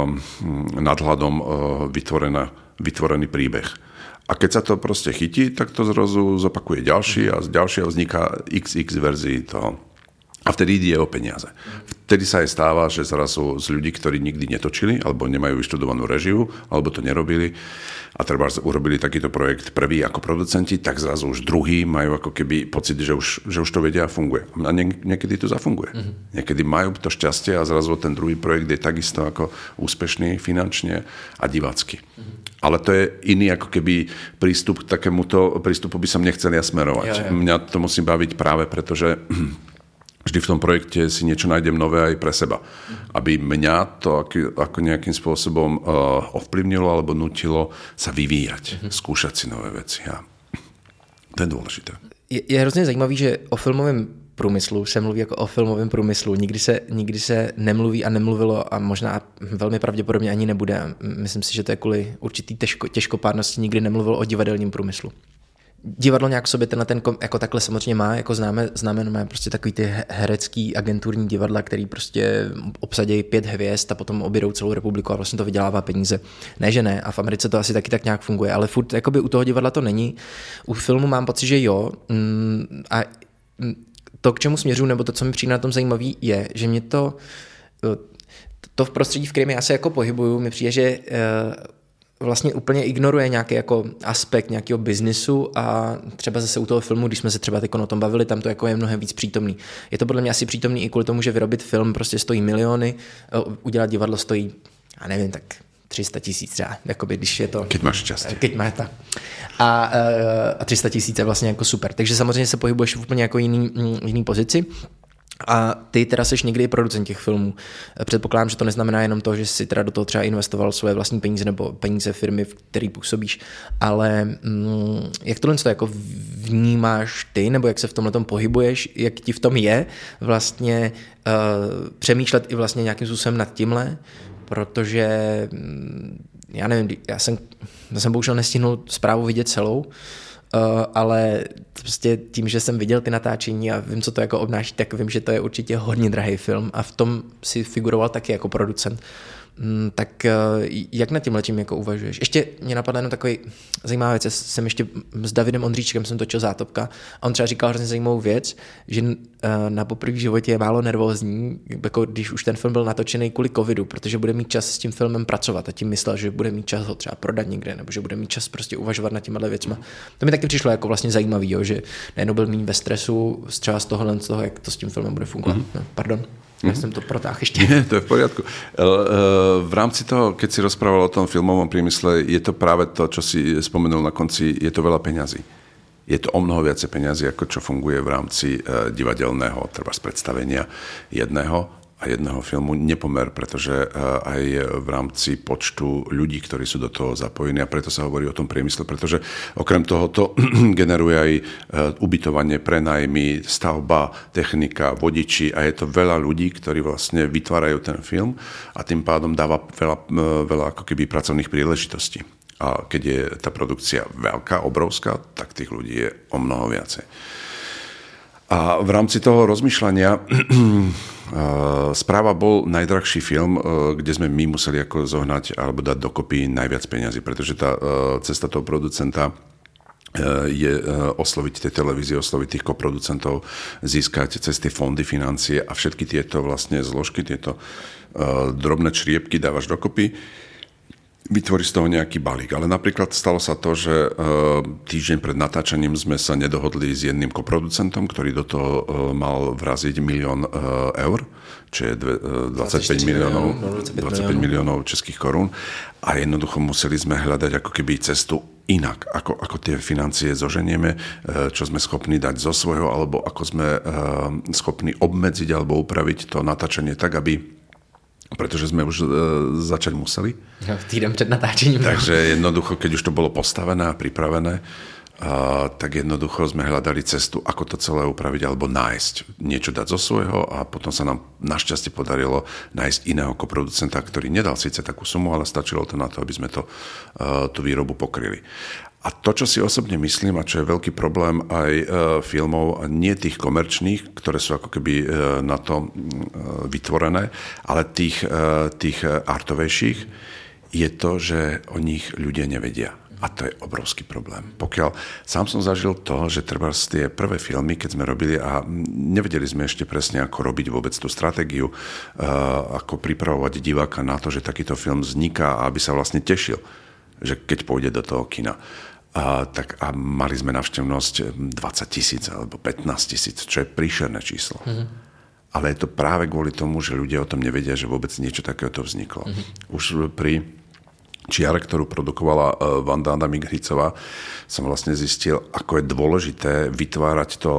nadhľadom vytvorená, vytvorený príbeh. A keď sa to proste chytí, tak to zrazu zopakuje ďalší a z ďalšieho vzniká iks iks verzií toho. A vtedy ide o peniaze. Vtedy sa aj stáva, že zrazu z ľudí, ktorí nikdy netočili, alebo nemajú vyštudovanú režiu, alebo to nerobili, a treba urobili takýto projekt prvý ako producenti, tak zrazu už druhý majú ako keby pocit, že už, že už to vedia a funguje. A nie, niekedy to zafunguje. Mm-hmm. Niekedy majú to šťastie a zrazu ten druhý projekt je takisto ako úspešný finančne a divácky. Mm-hmm. Ale to je iný ako keby prístup k takémuto prístupu by som nechcel ja smerovať. Jo, jo. Mňa to musí baviť práve preto, že vždy v tom projekte si niečo nájdem nové aj pre seba. Aby mňa to ako nejakým spôsobom ovplyvnilo alebo nutilo sa vyvíjať, mm-hmm. skúšať si nové veci. A to je dôležité. Je, je hrozně zajímavý, že o filmovém průmyslu se mluví jako o filmovém průmyslu. Nikdy se, nikdy se nemluví a nemluvilo a možná velmi pravděpodobně ani nebude. Myslím si, že to je kvůli určitý těžko, těžkopádnosti nikdy nemluvilo o divadelním průmyslu. Divadlo nějak sobě tenhle ten jako takhle samozřejmě má, jako známe, známe no, prostě takový ty herecký agenturní divadla, který prostě obsadějí pět hvězd a potom objedou celou republiku a vlastně to vydělává peníze. Ne, že ne, a v Americe to asi taky tak nějak funguje, ale furt jakoby u toho divadla to není. U filmu mám pocit, že jo, a to, k čemu směřuji, nebo to, co mi přijde na tom zajímavý, je, že mě to to v prostředí, v kterém já se jako pohybuju, mi přijde, že vlastně úplně ignoruje nějaký jako aspekt nějakého biznisu a třeba zase u toho filmu, když jsme se třeba teď o tom bavili, tam to jako je mnohem víc přítomný. Je to podle mě asi přítomný i kvůli tomu, že vyrobit film prostě stojí miliony, udělat divadlo stojí, já nevím, tak tři sta tisíc třeba, jakoby, když je to... Keď máš šťastie. Keď máš tak. A, a tři sta tisíc je vlastně jako super. Takže samozřejmě se pohybuješ v úplně jako jiný, jiný pozici. A ty teda seš někdy producent těch filmů. Předpokládám, že to neznamená jenom to, že jsi teda do toho třeba investoval svoje vlastní peníze nebo peníze firmy, v který působíš, ale mm, jak tohle to jako vnímáš ty, nebo jak se v tomhletom pohybuješ, jak ti v tom je vlastně uh, přemýšlet i vlastně nějakým způsobem nad tímhle, protože já nevím, já jsem, já jsem bohužel nestihnul zprávu vidět celou, ale prostě tím, že jsem viděl ty natáčení a vím, co to jako obnáší, tak vím, že to je určitě hodně drahý film a v tom si figuroval taky jako producent. Tak jak nad tím letím jako uvažuješ? Ještě mě napadla jenom takový zajímavá věc. Jsem ještě s Davidem Ondříčkem jsem točil Zátopka a on třeba říkal hrozně zajímavou věc, že na poprvé v životě je málo nervózní, jako když už ten film byl natočený kvůli covidu, protože bude mít čas s tím filmem pracovat a tím myslel, že bude mít čas ho třeba prodat někde, nebo že bude mít čas prostě uvažovat nad těmihle věcmi. To mi taky přišlo jako vlastně zajímavý, jo, že najednou byl méně ve stresu třeba z tohohle, z toho, jak to s tím filmem bude fungovat. Mm-hmm. No, pardon. Ja som to protáhl ešte. Nie, to je v poriadku. V rámci toho, keď si rozprával o tom filmovom priemysle, je to práve to, čo si spomenul na konci, je to veľa peňazí. Je to o mnoho viacej peňazí, ako čo funguje v rámci divadelného, treba z predstavenia jedného a jedného filmu nepomer, pretože aj v rámci počtu ľudí, ktorí sú do toho zapojení a preto sa hovorí o tom priemysle, pretože okrem toho to generuje aj ubytovanie, prenajmy, stavba, technika, vodiči a je to veľa ľudí, ktorí vlastne vytvárajú ten film a tým pádom dáva veľa, veľa ako keby pracovných príležitostí. A keď je tá produkcia veľká, obrovská, tak tých ľudí je o mnoho viacej. A v rámci toho rozmýšľania Správa bol najdrahší film, kde sme my museli ako zohnať alebo dať dokopy najviac peňazí, pretože tá cesta toho producenta je osloviť tej televízie, osloviť tých koproducentov, získať cez tie fondy financie a všetky tieto vlastne zložky, tieto drobné čriepky dávaš dokopy, vytvorí z toho nejaký balík. Ale napríklad stalo sa to, že týždeň pred natáčaním sme sa nedohodli s jedným koproducentom, ktorý do toho mal vraziť milión eur, čo je dvadsaťpäť miliónov, dvadsaťpäť miliónov českých korún. A jednoducho museli sme hľadať ako keby cestu inak, ako, ako tie financie zoženieme, čo sme schopní dať zo svojho, alebo ako sme schopní obmedziť alebo upraviť to natáčanie tak, aby pretože sme už e, začať museli. No, týden před natáčením. Takže jednoducho, keď už to bolo postavené a pripravené, a, tak jednoducho sme hľadali cestu, ako to celé upraviť alebo nájsť. Niečo dať zo svojho a potom sa nám našťastie podarilo nájsť iného koproducenta, ktorý nedal síce takú sumu, ale stačilo to na to, aby sme to, e, tú výrobu pokryli. A to, čo si osobne myslím, a čo je veľký problém aj e, filmov, nie tých komerčných, ktoré sú ako keby e, na to e, vytvorené, ale tých, e, tých artovejších, je to, že o nich ľudia nevedia. A to je obrovský problém. Pokiaľ sám som zažil to, že treba z tie prvé filmy, keď sme robili a nevedeli sme ešte presne, ako robiť vôbec tú stratégiu, e, ako pripravovať diváka na to, že takýto film vzniká a aby sa vlastne tešil, že keď pôjde do toho kina. A, tak, a mali sme návštevnosť dvadsať tisíc alebo pätnásť tisíc, čo je príšerné číslo. Mm-hmm. Ale je to práve kvôli tomu, že ľudia o tom nevedia, že vôbec niečo takéto vzniklo. Mm-hmm. Už pri čiare, ktorú produkovala Vanda Adamik-Hricová, som vlastne zistil, ako je dôležité vytvárať to,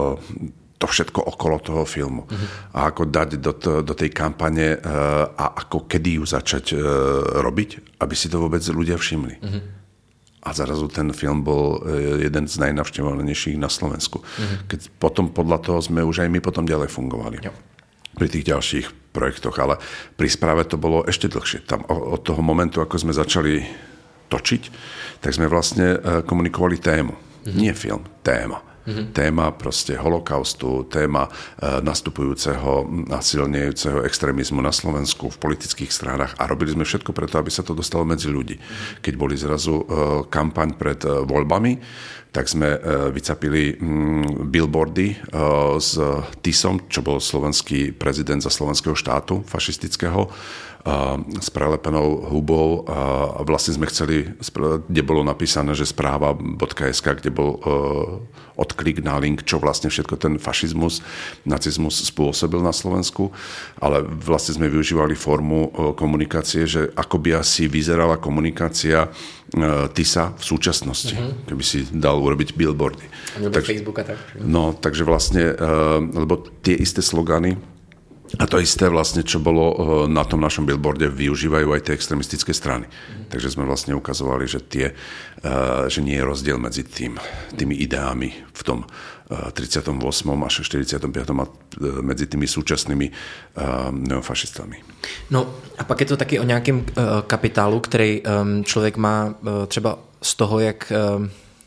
to všetko okolo toho filmu. Mm-hmm. A ako dať do, to, do tej kampane a ako kedy ju začať robiť, aby si to vôbec ľudia všimli. Mm-hmm. A zrazu ten film bol jeden z najnavštevovanejších na Slovensku. Mm-hmm. Keď potom podľa toho sme už aj my potom ďalej fungovali. Jo. Pri tých ďalších projektoch, ale pri správe to bolo ešte dlhšie. Tam od toho momentu, ako sme začali točiť, tak sme vlastne komunikovali tému. Mm-hmm. Nie film, téma. Mm-hmm. Téma proste holokaustu, téma e, nastupujúceho a silnejúceho extrémizmu na Slovensku v politických stranách a robili sme všetko preto, aby sa to dostalo medzi ľudí. Mm-hmm. Keď boli zrazu e, kampaň pred e, voľbami, tak sme e, vycapili mm, billboardy e, s Tisom, čo bol slovenský prezident za slovenského štátu fašistického, a s prelepenou hubou a vlastne sme chceli, kde bolo napísané, že správa bodka es ká, kde bol uh, odklik na link, čo vlastne všetko ten fašizmus, nacizmus spôsobil na Slovensku, ale vlastne sme využívali formu uh, komunikácie, že ako by asi vyzerala komunikácia uh, Tisa v súčasnosti, mm-hmm. keby si dal urobiť billboardy. A tak, Facebooka tak. No, takže vlastne, uh, lebo tie isté slogany a to isté vlastne, čo bolo na tom našom billboarde, využívajú aj tie extremistické strany. Mm. Takže sme vlastne ukazovali, že, tie, že nie je rozdiel medzi tým, tými ideami v tom tridsiatom ôsmom až štyridsiatom piatom a medzi tými súčasnými neofašistami. No a pak je to taky o nějakém kapitálu, který člověk má třeba z toho, jak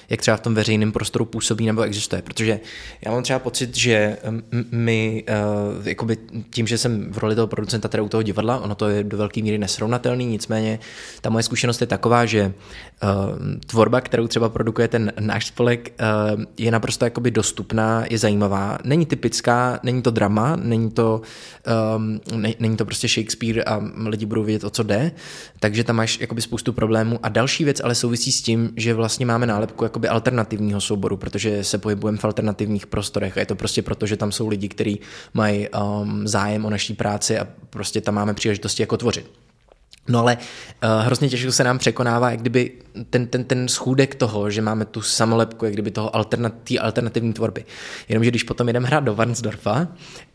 jak třeba v tom veřejném prostoru působí nebo existuje. Protože já mám třeba pocit, že my uh, jakoby tím, že jsem v roli toho producenta teda u toho divadla, ono to je do velké míry nesrovnatelný, nicméně ta moje zkušenost je taková, že uh, tvorba, kterou třeba produkuje ten náš spolek, uh, je naprosto jakoby dostupná, je zajímavá, není typická, není to drama, není to, um, ne, není to prostě Shakespeare a lidi budou vědět, o co jde, takže tam máš jakoby spoustu problémů. A další věc ale souvisí s tím, že vlastně máme nálepku jakoby alternativního souboru, protože se pohybujeme v alternativních prostorech a je to prostě proto, že tam jsou lidi, kteří mají um, zájem o naší práci a prostě tam máme příležitosti jako tvořit. No ale uh, hrozně těžko se nám překonává, jak kdyby ten, ten, ten schůdek toho, že máme tu samolepku, jak kdyby toho alternat, alternativní tvorby. Jenomže když potom jdeme hrát do Varnsdorfa, uh,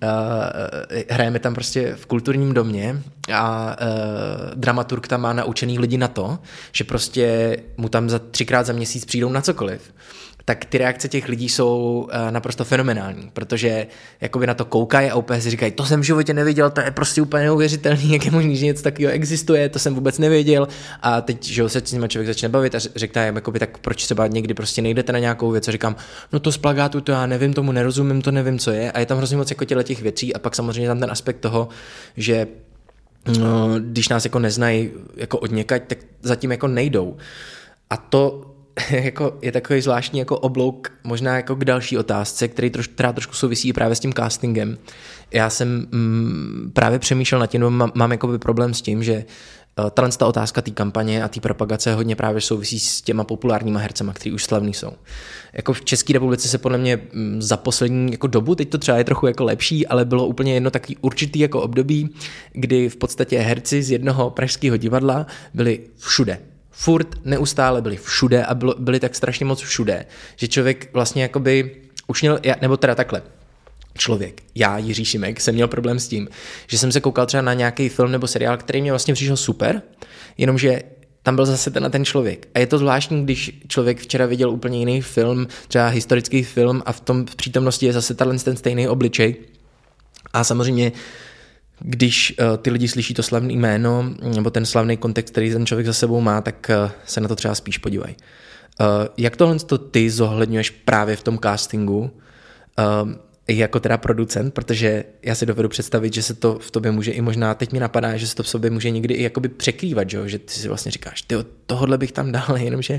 hrajeme tam prostě v kulturním domě a uh, dramaturg tam má naučený lidi na to, že prostě mu tam za třikrát za měsíc přijdou na cokoliv, tak ty reakce těch lidí jsou uh, naprosto fenomenální, protože jakoby na to koukají a úplně si říkají, to jsem v životě neviděl, to je prostě úplně neuvěřitelný, jak je možný, že něco takového existuje, to jsem vůbec nevěděl. A teď, že se s nimi člověk začne bavit a řekne jim, jakoby, tak proč třeba někdy prostě nejdete na nějakou věc a říkám, no to z plagátu, to já nevím, tomu nerozumím, to nevím, co je. A je tam hrozně moc jako těch věcí a pak samozřejmě tam ten aspekt toho, že no, když nás jako neznají jako odněkať, tak zatím jako nejdou. A to jako je takový zvláštní jako oblouk možná jako k další otázce, který troš, která trošku souvisí právě s tím castingem. Já jsem mm, právě přemýšlel nad tím, no, mám, mám jakoby problém s tím, že uh, tahle ta otázka té kampaně a té propagace hodně právě souvisí s těma populárníma hercema, kteří už slavní jsou. Jako v České republice se podle mě mm, za poslední jako dobu, teď to třeba je trochu jako lepší, ale bylo úplně jedno takový určitý jako období, kdy v podstatě herci z jednoho pražského divadla byli všude. Furt neustále byli všude a bylo, byli tak strašně moc všude, že člověk vlastně jakoby už měl, nebo teda takhle, člověk, já, Jiří Šimek, jsem měl problém s tím, že jsem se koukal třeba na nějaký film nebo seriál, který mě vlastně přišel super, jenomže tam byl zase ten ten člověk. A je to zvláštní, když člověk včera viděl úplně jiný film, třeba historický film a v tom v přítomnosti je zase ten stejný obličej. A samozřejmě když uh, ty lidi slyší to slavné jméno nebo ten slavný kontext, který ten člověk za sebou má, tak uh, se na to třeba spíš podívají. Uh, jak tohle to ty zohledňuješ právě v tom castingu uh, jako teda producent, protože já si dovedu představit, že se to v tobě může i možná, teď mi napadá, že se to v sobě může někdy i jakoby překrývat, že, že ty si vlastně říkáš, tyjo, tohodle bych tam dal, jenomže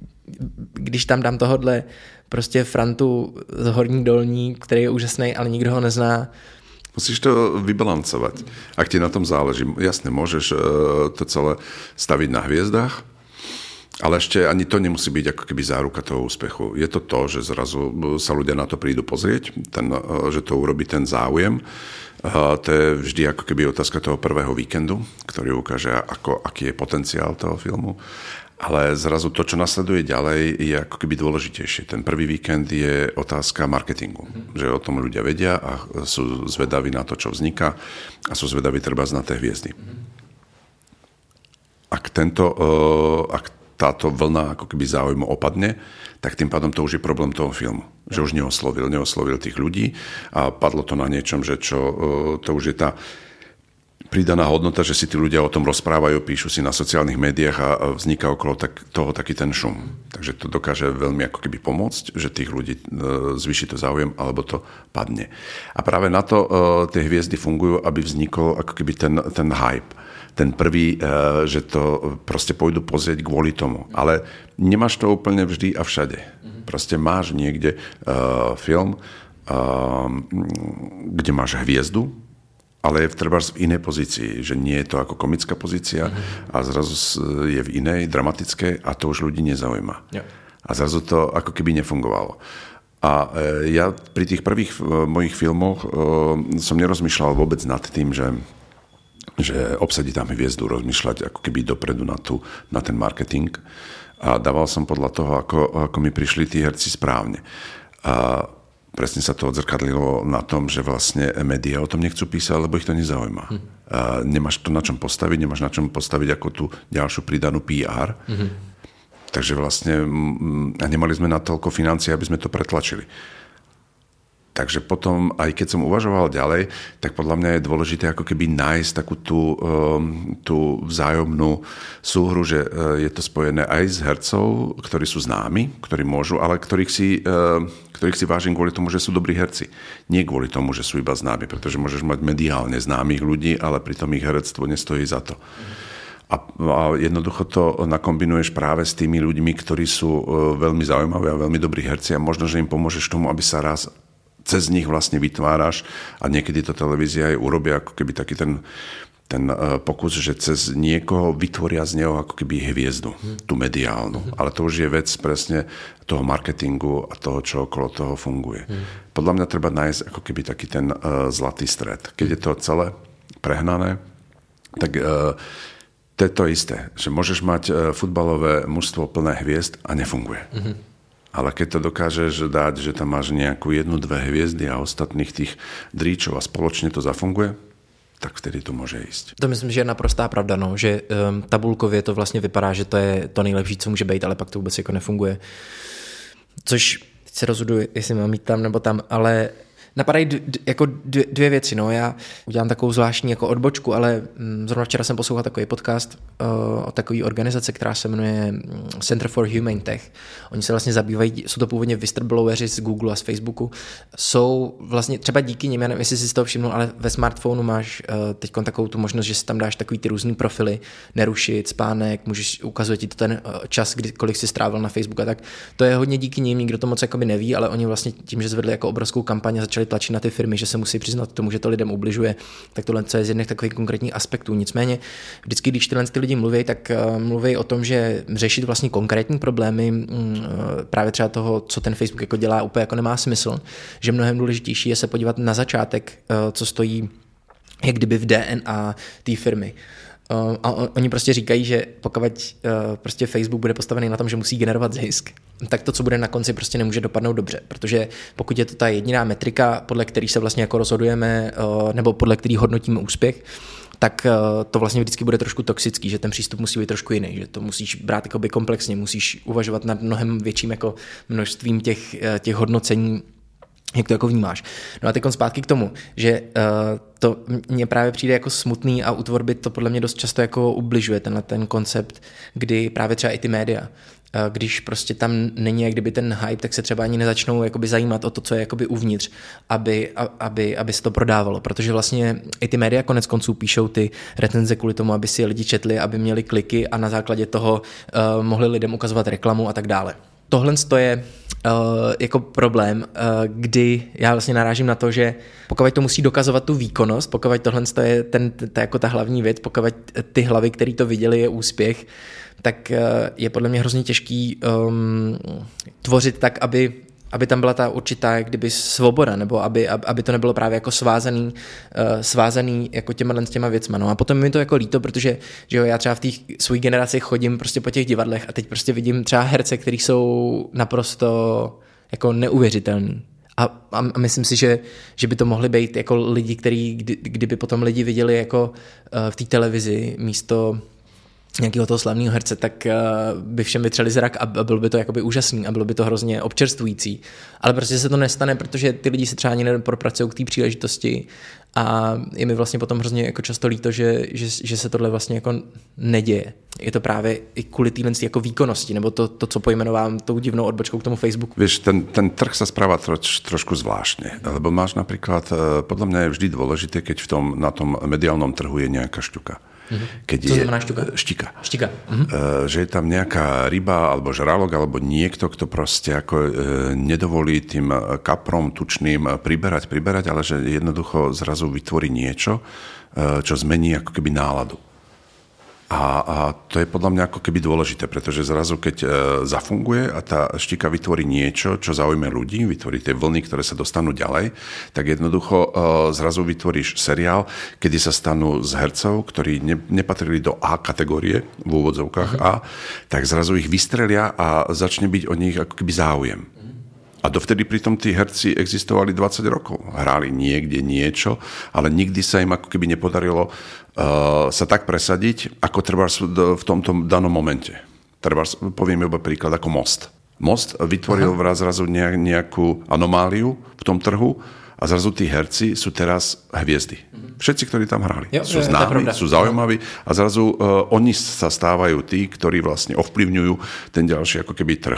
když tam dám tohodle prostě Frantu z Horní Dolní, který je úžasný, ale nikdo ho nezná. Musíš to vybalancovať, ak ti na tom záleží. Jasne, môžeš to celé staviť na hviezdách, ale ešte ani to nemusí byť ako keby záruka toho úspechu. Je to to, že zrazu sa ľudia na to prídu pozrieť, ten, že to urobí ten záujem. To je vždy ako keby otázka toho prvého víkendu, ktorý ukáže, ako, aký je potenciál toho filmu. Ale zrazu to, čo nasleduje ďalej, je ako keby dôležitejšie. Ten prvý víkend je otázka marketingu. Mm. Že o tom ľudia vedia a sú zvedaví na to, čo vzniká a sú zvedaví treba na tie hviezdy. Mm. Ak, tento, ak táto vlna ako keby záujmu opadne, tak tým pádom to už je problém toho filmu. Že už neoslovil, neoslovil tých ľudí a padlo to na niečom, že čo, to už je tá pridaná hodnota, že si tí ľudia o tom rozprávajú, píšu si na sociálnych médiách a vzniká okolo tak, toho taký ten šum. Takže to dokáže veľmi ako keby pomôcť, že tých ľudí zvýši to záujem, alebo to padne. A práve na to uh, tie hviezdy fungujú, aby vznikol ako keby ten, ten hype. Ten prvý, uh, že to proste pôjdu pozrieť kvôli tomu. Ale nemáš to úplne vždy a všade. Proste máš niekde uh, film, uh, kde máš hviezdu, ale je treba v inej pozícii, že nie je to ako komická pozícia a zrazu je v inej, dramatickej a to už ľudí nezaujíma. Yeah. A zrazu to ako keby nefungovalo. A ja pri tých prvých mojich filmoch som nerozmýšľal vôbec nad tým, že, že obsadiť tam hviezdu, rozmýšľať ako keby dopredu na, tú, na ten marketing. A dával som podľa toho, ako, ako mi prišli tí herci správne. A presne sa to odzrkadlilo na tom, že vlastne médiá o tom nechcú písať, lebo ich to nezaujíma. Hm. A nemáš to na čom postaviť, nemáš na čom postaviť ako tú ďalšiu pridanú pé er. Hm. Takže vlastne a nemali sme na toľko financií, aby sme to pretlačili. Takže potom, aj keď som uvažoval ďalej, tak podľa mňa je dôležité ako keby nájsť takú tú, um, tú vzájomnú súhru, že uh, je to spojené aj s hercov, ktorí sú známi, ktorí môžu, ale ktorých si, uh, ktorých si vážim kvôli tomu, že sú dobrí herci. Nie kvôli tomu, že sú iba známi, pretože môžeš mať mediálne známych ľudí, ale pritom ich herectvo nestojí za to. A, a jednoducho to nakombinuješ práve s tými ľuďmi, ktorí sú uh, veľmi zaujímaví a veľmi dobrí herci a možno, že im pomôžeš tomu, aby sa raz cez nich vlastne vytváraš a niekedy to televízia aj urobia ako keby taký ten, ten uh, pokus, že cez niekoho vytvoria z neho ako keby hviezdu, hmm. tú mediálnu. Hmm. Ale to už je vec presne toho marketingu a toho, čo okolo toho funguje. Hmm. Podľa mňa treba nájsť ako keby taký ten uh, zlatý stred. Keď je to celé prehnané, tak uh, to je to isté, že môžeš mať uh, futbalové mužstvo plné hviezd a nefunguje. Hmm. Ale keď to dokážeš dať, že tam máš nejakú jednu, dve hviezdy a ostatných tých dríčov a spoločne to zafunguje, tak vtedy to může jíst. To myslím, že je naprostá pravda, no, že um, tabulkově to vlastně vypadá, že to je to nejlepší, co může být, ale pak to vůbec jako nefunguje. Což teď se rozhoduji, jestli mám jít tam nebo tam, ale napadají d- d- jako dvě, dvě věci. No. Já udělám takovou zvláštní jako odbočku, ale mm, zrovna včera jsem poslouchal takový podcast uh, o takové organizace, která se jmenuje Center for Humane Tech. Oni se vlastně zabývají, jsou to původně whistlebloweri z Google a z Facebooku. Jsou vlastně třeba díky nim, já nevím, jestli si z toho všimnul, ale ve smartphonu máš uh, teď takovou tu možnost, že si tam dáš takový ty různý profily, nerušit, spánek, můžeš ukazovat ti to ten uh, čas, kdy, kolik si strávil na Facebooku a tak. To je hodně díky nim, nikdo to moc jakoby neví, ale oni vlastně tím, že zvedli jako obrovskou kampaň a začali tlačit na ty firmy, že se musí přiznat tomu, že to lidem ubližuje, tak tohle je z jedných takových konkrétních aspektů. Nicméně vždycky, když tyhle ty lidi mluví, tak uh, mluví o tom, že řešit vlastně konkrétní problémy um, právě třeba toho, co ten Facebook jako dělá, úplně jako nemá smysl, že mnohem důležitější je se podívat na začátek, uh, co stojí jak kdyby v D N A té firmy. Uh, a oni prostě říkají, že pokud uh, prostě Facebook bude postavený na tom, že musí generovat zisk, tak to, co bude na konci, prostě nemůže dopadnout dobře, protože pokud je to ta jediná metrika, podle který se vlastně jako rozhodujeme, uh, nebo podle který hodnotíme úspěch, tak uh, to vlastně vždycky bude trošku toxický, že ten přístup musí být trošku jiný, že to musíš brát jakoby komplexně, musíš uvažovat nad mnohem větším jako množstvím těch, uh, těch hodnocení, jak to jako vnímáš. No a teď zpátky k tomu, že uh, to mně právě přijde jako smutný a u tvorby to podle mě dost často jako ubližuje tenhle ten koncept, kdy právě třeba i ty média, uh, když prostě tam není jak kdyby ten hype, tak se třeba ani nezačnou jakoby zajímat o to, co je jakoby uvnitř, aby, aby, aby se to prodávalo, protože vlastně i ty média konec konců píšou ty recenze kvůli tomu, aby si je lidi četli, aby měli kliky a na základě toho uh, mohli lidem ukazovat reklamu a tak dále. Tohle je uh, jako problém, uh, kdy já vlastně narážím na to, že pokud to musí dokazovat tu výkonnost, pokud tohle je ten, ta, jako ta hlavní věc, pokud ty hlavy, který to viděli, je úspěch, tak uh, je podle mě hrozně těžký um, tvořit tak, aby aby tam byla ta určitá kdyby svoboda, nebo aby, aby to nebylo právě jako svázaný, uh, svázaný jako těma, s těma věcma. No a potom mi to jako líto, protože že jo, já třeba v té své generaci chodím prostě po těch divadlech a teď prostě vidím třeba herce, kteří jsou naprosto jako neuvěřitelný. A, a myslím si, že, že by to mohly být jako lidi, který, kdy, kdyby potom lidi viděli jako uh, v té televizi místo nějakého toho slavného herce, tak uh, by všem vytřeli zrak a bylo by to jakoby úžasný a bylo by to hrozně občerstvující. Ale prostě se to nestane, protože ty lidi se třeba ani nepropracují k té příležitosti a je mi vlastně potom hrozně jako často líto, že, že, že se tohle vlastně jako neděje. Je to právě i kvůli téhle jako výkonnosti, nebo to, to, co pojmenovám tou divnou odbočkou k tomu Facebooku. Vieš, ten, ten trh sa správa troš, trošku zvláštne, lebo máš napríklad, podľa mňa je vždy dôležité, keď v tom, na tom mediálnom trhu je nejaká šťuka. Keď Co znamená šťuka? Štika. Štika. Mhm. Že je tam nejaká ryba alebo žralok alebo niekto, kto proste ako nedovolí tým kaprom tučným priberať, priberať, ale že jednoducho zrazu vytvorí niečo, čo zmení ako keby náladu. A, a to je podľa mňa ako keby dôležité, pretože zrazu keď e, zafunguje a tá štika vytvorí niečo, čo zaujme ľudí, vytvorí tie vlny, ktoré sa dostanú ďalej, tak jednoducho e, zrazu vytvoríš seriál, kedy sa stanú z hercov, ktorí ne, nepatrili do A kategórie, v úvodzovkách A, tak zrazu ich vystrelia a začne byť o nich ako keby záujem. A dovtedy pritom tí herci existovali dvadsať rokov. Hráli niekde niečo, ale nikdy sa im ako keby nepodarilo uh, sa tak presadiť, ako treba v tomto danom momente. Treba, poviem iba príklad ako Most. Most vytvoril vraz zrazu nejakú anomáliu v tom trhu a zrazu tí herci sú teraz hviezdy. Všetci, ktorí tam hrali. Jo, sú je, známi, sú zaujímaví a zrazu uh, oni sa stávajú tí, ktorí vlastne ovplyvňujú ten ďalší ako keby trh.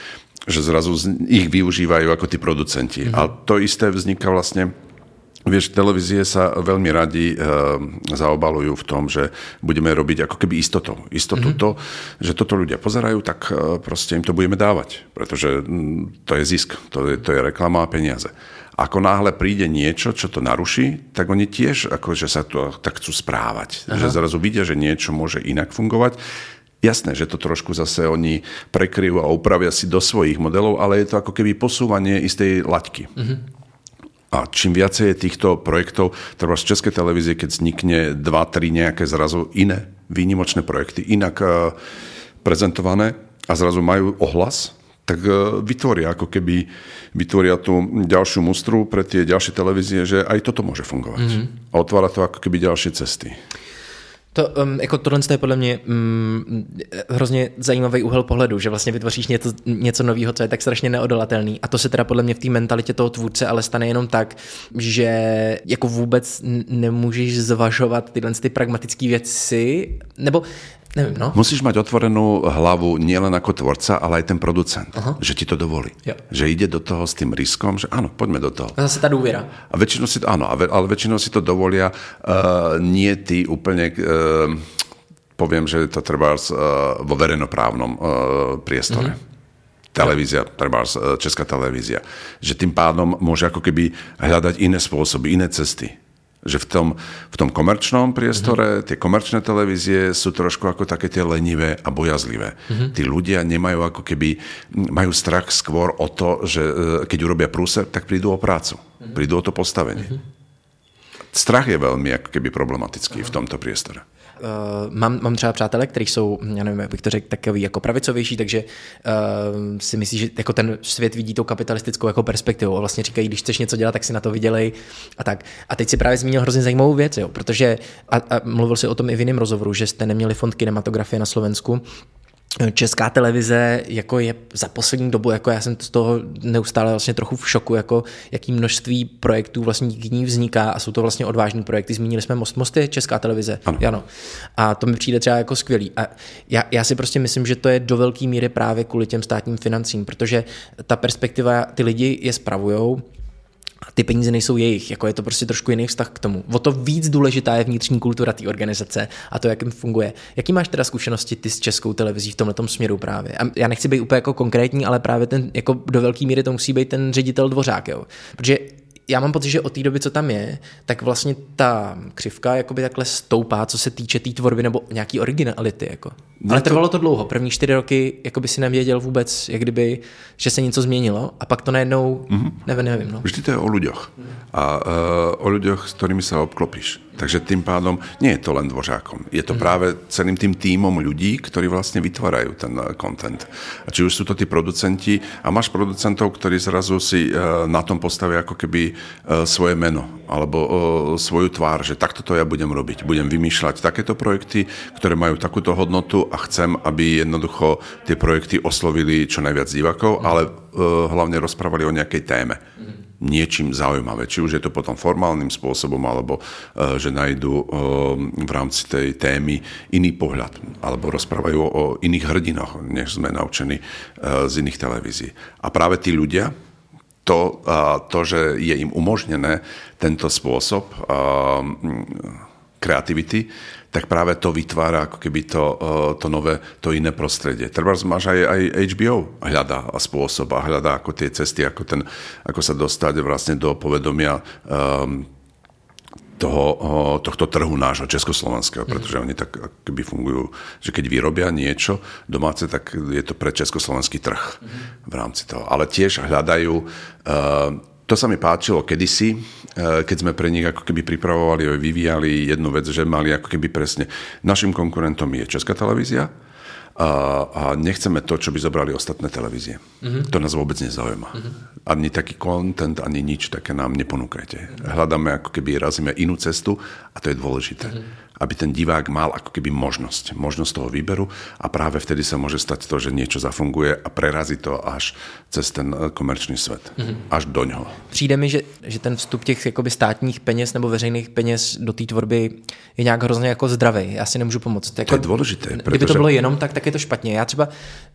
Že zrazu ich využívajú ako tí producenti. Mm-hmm. A to isté vzniká vlastne. Vieš, televízie sa veľmi radi e, zaobalujú v tom, že budeme robiť ako keby istotou. Istotu mm-hmm. to, že toto ľudia pozerajú, tak e, proste im to budeme dávať. Pretože m, to je zisk, to je, to je reklama a peniaze. Ako náhle príde niečo, čo to naruší, tak oni tiež akože sa to tak chcú správať. Aha. Že zrazu vidia, že niečo môže inak fungovať. Jasné, že to trošku zase oni prekryjú a upravia si do svojich modelov, ale je to ako keby posúvanie istej laťky. Mm-hmm. A čím viacej je týchto projektov, treba z Českej televízie, keď vznikne dva, tri nejaké zrazu iné výnimočné projekty, inak uh, prezentované a zrazu majú ohlas, tak uh, vytvoria ako keby vytvoria tú ďalšiu mustru pre tie ďalšie televízie, že aj toto môže fungovať. Mm-hmm. A otvára to ako keby ďalšie cesty. To, um, jako tohle je podle mě um, hrozně zajímavý úhel pohledu, že vlastně vytvoříš něco, něco nového, co je tak strašně neodolatelný. A to se teda podle mě v té mentalitě toho tvůrce ale stane jenom tak, že jako vůbec nemůžeš zvažovat tyhle ty pragmatické věci, nebo nevím, no. Musíš mať otvorenú hlavu nielen ako tvorca, ale aj ten producent. Aha. Že ti to dovolí. Jo. Že ide do toho s tým riskom, že áno, poďme do toho. A zase tá dôvera. A väčšinou si to, áno, ale väčšinou si to dovolia uh, nie ty úplne, uh, poviem, že to treba uh, vo verejnoprávnom uh, priestore. Mm-hmm. Televízia, treba uh, Česká televízia. Že tým pádom môže ako keby hľadať iné spôsoby, iné cesty. Že v tom, v tom komerčnom priestore, mm-hmm. tie komerčné televízie sú trošku ako také tie lenivé a bojazlivé. Mm-hmm. Tí ľudia nemajú ako keby, majú strach skôr o to, že keď urobia prúser, tak prídu o prácu. Mm-hmm. Prídu o to postavenie. Mm-hmm. Strach je veľmi ako keby problematický Aha. v tomto priestore. Uh, mám, mám třeba přátelé, kteří jsou, já nevím, jak bych to řekl, takový jako pravicovější, takže uh, si myslí, že jako ten svět vidí tou kapitalistickou jako perspektivou a vlastně říkají, když chceš něco dělat, tak si na to vydělej a tak. A teď si právě zmínil hrozně zajímavou věc, jo, protože a, a mluvil si o tom i v jiném rozhovoru, že jste neměli fond kinematografie na Slovensku. Česká televize jako je za poslední dobu, jako já jsem z toho neustále vlastně trochu v šoku, jako jaký množství projektů vlastně díky ní vzniká a jsou to vlastně odvážní projekty. Zmínili jsme Most. Most je Česká televize. Ano. ano. A to mi přijde třeba jako skvělý. A já, já si prostě myslím, že to je do velké míry právě kvůli těm státním financím, protože ta perspektiva, ty lidi je spravujou, ty peníze nejsou jejich, jako je to prostě trošku jiný vztah k tomu. O to víc důležitá je vnitřní kultura té organizace a to, jak jim funguje. Jaký máš teda zkušenosti ty s Českou televizí v tomhletom směru právě? A já nechci být úplně jako konkrétní, ale právě ten, jako do velké míry to musí být ten ředitel Dvořák, jo. Protože já mám pocit, že od té doby, co tam je, tak vlastně ta křivka jakoby takhle stoupá, co se týče té tý tvorby nebo nějaký originality. Jako. Ale trvalo to dlouho. První čtyři roky jakoby si nevěděl vůbec, jak kdyby, že se něco změnilo a pak to najednou, mm-hmm. nevím, nevím. No. Vždy to je o ľuďoch. A uh, o ľuďoch, s ktorými sa obklopíš. Takže tým pádom nie je to len Dvořákom. Je to mm. práve celým tým tímom ľudí, ktorí vlastne vytvárajú ten content. A či už sú to tí producenti, a máš producentov, ktorí zrazu si uh, na tom postavia ako keby uh, svoje meno, alebo uh, svoju tvár, že takto to ja budem robiť. Budem vymýšľať takéto projekty, ktoré majú takúto hodnotu a chcem, aby jednoducho tie projekty oslovili čo najviac divákov, mm. ale uh, hlavne rozprávali o nejakej téme. Mm. Niečím zaujímavé. Či už je to potom formálnym spôsobom, alebo uh, že nájdú uh, v rámci tej témy iný pohľad, alebo rozprávajú o iných hrdinoch, než sme naučení uh, z iných televízií. A práve tí ľudia, to, uh, to že je im umožnené tento spôsob uh, kreativity, tak práve to vytvára ako keby to, to nové, to iné prostredie. Treba máš aj, aj há bé ó hľadá spôsob a hľadá ako tie cesty, ako, ten, ako sa dostať vlastne do povedomia um, toho, tohto trhu nášho československého, pretože oni tak keby fungujú, že keď vyrobia niečo domáce, tak je to pre československý trh v rámci toho. Ale tiež hľadajú uh, to sa mi páčilo kedysi, keď sme pre nich ako keby pripravovali a vyvíjali jednu vec, že mali ako keby presne, našim konkurentom je Česká televízia a, a nechceme to, čo by zobrali ostatné televízie. Mm-hmm. To nás vôbec nezaujíma. Mm-hmm. Ani taký content, ani nič také nám neponúkajte. Mm-hmm. Hľadáme ako keby razíme inú cestu a to je dôležité. Mm-hmm. aby ten divák mal ako keby možnosť, možnosť toho výberu a práve vtedy sa môže stať to, že niečo zafunguje a prerazí to až cez ten komerčný svet, mm-hmm. až do ňoho. Přijde mi, že, že ten vstup těch jakoby státních peněz nebo veřejných peněz do té tvorby je nějak hrozně jako zdravý. Já si nemůžu pomoct. Jako, to je dôležité. Kdyby pretože... to bylo jenom tak, tak je to špatně. Já třeba,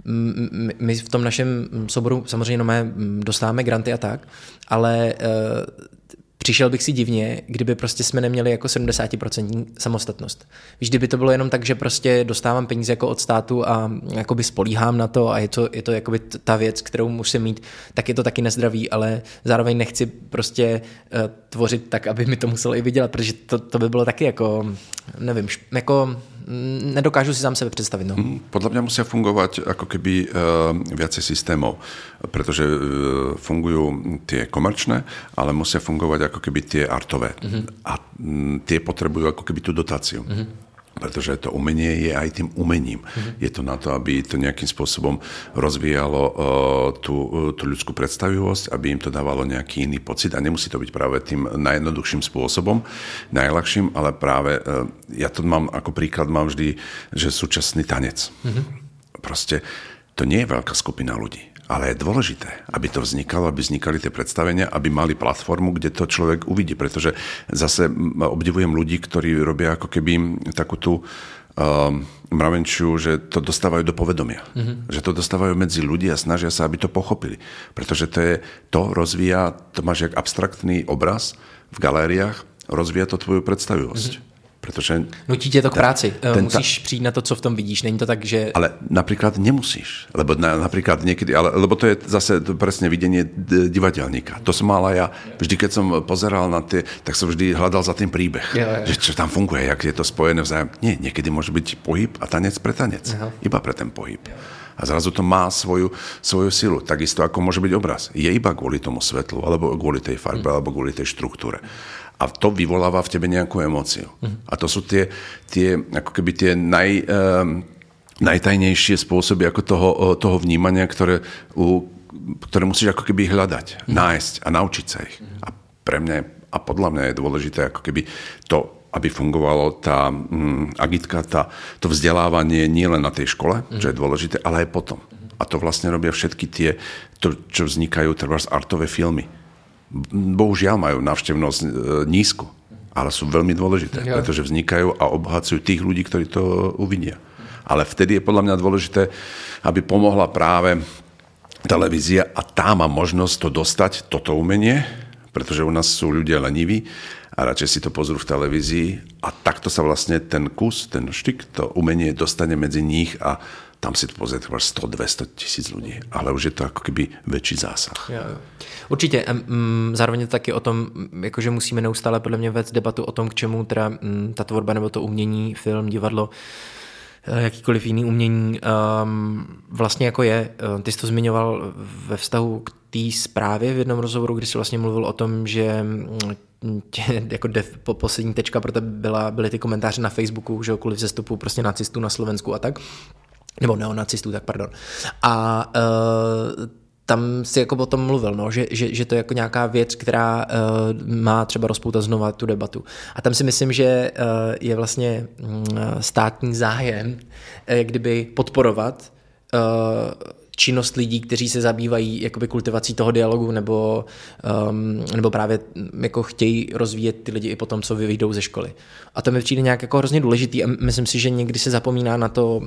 my v tom našem souboru samozřejmě no mé dostáváme granty a tak, ale uh, přišel bych si divně, kdyby prostě jsme neměli jako sedmdesát procent samostatnost. Víš, kdyby to bylo jenom tak, že prostě dostávám peníze jako od státu a jakoby spolíhám na to a je to, je to jakoby ta věc, kterou musím mít, tak je to taky nezdravý, ale zároveň nechci prostě uh, tvořit tak, aby mi to muselo i vydělat, protože to, to by bylo taky jako, nevím, jako nedokážu si sám sebe predstaviť. No. Podľa mňa musia fungovať ako keby uh, viacej systémov, pretože uh, fungujú tie komerčné, ale musia fungovať ako keby tie artové. Mm-hmm. A m, tie potrebujú ako keby tú dotáciu. Mm-hmm. Pretože to umenie je aj tým umením. Mm-hmm. Je to na to, aby to nejakým spôsobom rozvíjalo uh, tú, uh, tú ľudskú predstavivosť, aby im to dávalo nejaký iný pocit a nemusí to byť práve tým najjednoduchším spôsobom, najľahším, ale práve uh, ja to mám ako príklad, mám vždy, že súčasný tanec. Mm-hmm. Proste to nie je veľká skupina ľudí. Ale je dôležité, aby to vznikalo, aby vznikali tie predstavenia, aby mali platformu, kde to človek uvidí. Pretože zase obdivujem ľudí, ktorí robia ako keby takú tú uh, mravenčiu, že to dostávajú do povedomia. Mm-hmm. Že to dostávajú medzi ľudí a snažia sa, aby to pochopili. Pretože to je, to rozvíja, to máš jak abstraktný obraz v galériách, rozvíja to tvoju predstavivosť. Mm-hmm. Pretože nutí tě to k práci. Ten, musíš přijít na to, co v tom vidíš. Není to tak, že... Ale napríklad nemusíš. Lebo na, napríklad niekedy... Ale, lebo to je zase to presne videnie divadelníka. To som mal aj ja. Vždy, keď som pozeral na tie, tak som vždy hľadal za tým príbeh. Jo, jo. Že čo tam funguje, jak je to spojené vzájom. Nie, niekedy môže byť pohyb a tanec pre tanec. Aha. Iba pre ten pohyb. A zrazu to má svoju, svoju silu. Takisto ako môže byť obraz. Je iba kvôli tomu svetlu, alebo kvôli tej farbe, hmm. alebo kvôli tej štruktúre. A to vyvoláva v tebe nejakú emóciu. Uh-huh. A to sú tie, tie ako keby tie naj, um, najtajnejšie spôsoby ako toho, toho vnímania, ktoré, u, ktoré musíš ako keby hľadať, uh-huh. nájsť a naučiť sa ich. Uh-huh. A pre mňa a podľa mňa je dôležité ako keby to, aby fungovalo tá um, agitka, tá, to vzdelávanie nie len na tej škole, uh-huh. čo je dôležité, ale aj potom. Uh-huh. A to vlastne robia všetky tie, to, čo vznikajú trebárs artové filmy. Bohužiaľ majú návštevnosť e, nízku, ale sú veľmi dôležité, ja. Pretože vznikajú a obohacujú tých ľudí, ktorí to uvidia. Ale vtedy je podľa mňa dôležité, aby pomohla práve televízia a tá má možnosť to dostať, toto umenie, pretože u nás sú ľudia leniví a radšej si to pozrú v televízii a takto sa vlastne ten kus, ten štyk, to umenie dostane medzi nich a tam si to pozrie sto dvesto tisíc ľudí, ale už je to ako keby väčší zásah. Ja, určitě. Zároveň je to taky o tom, jakože musíme neustále podle mě vést debatu o tom, k čemu teda ta tvorba nebo to umění, film, divadlo, jakýkoliv jiný umění vlastně jako je. Ty jsi to zmiňoval ve vztahu k té zprávě v jednom rozhovoru, kdy jsi vlastně mluvil o tom, že tě, jako def, po, poslední tečka pro tebe byla, byly ty komentáře na Facebooku, že kvůli vzestupu prostě nacistů na Slovensku a tak. Nebo neonacistů, tak pardon. A uh, tam si jako o tom mluvil, no, že, že, že to je jako nějaká věc, která uh, má třeba rozpoutat znova tu debatu. A tam si myslím, že uh, je vlastně uh, státní zájem, uh, kdyby podporovat uh, činnost lidí, kteří se zabývají jakoby kultivací toho dialogu nebo, um, nebo právě jako chtějí rozvíjet ty lidi i potom, co vyjdou ze školy. A to mi přijde nějak jako hrozně důležitý a myslím si, že někdy se zapomíná na to,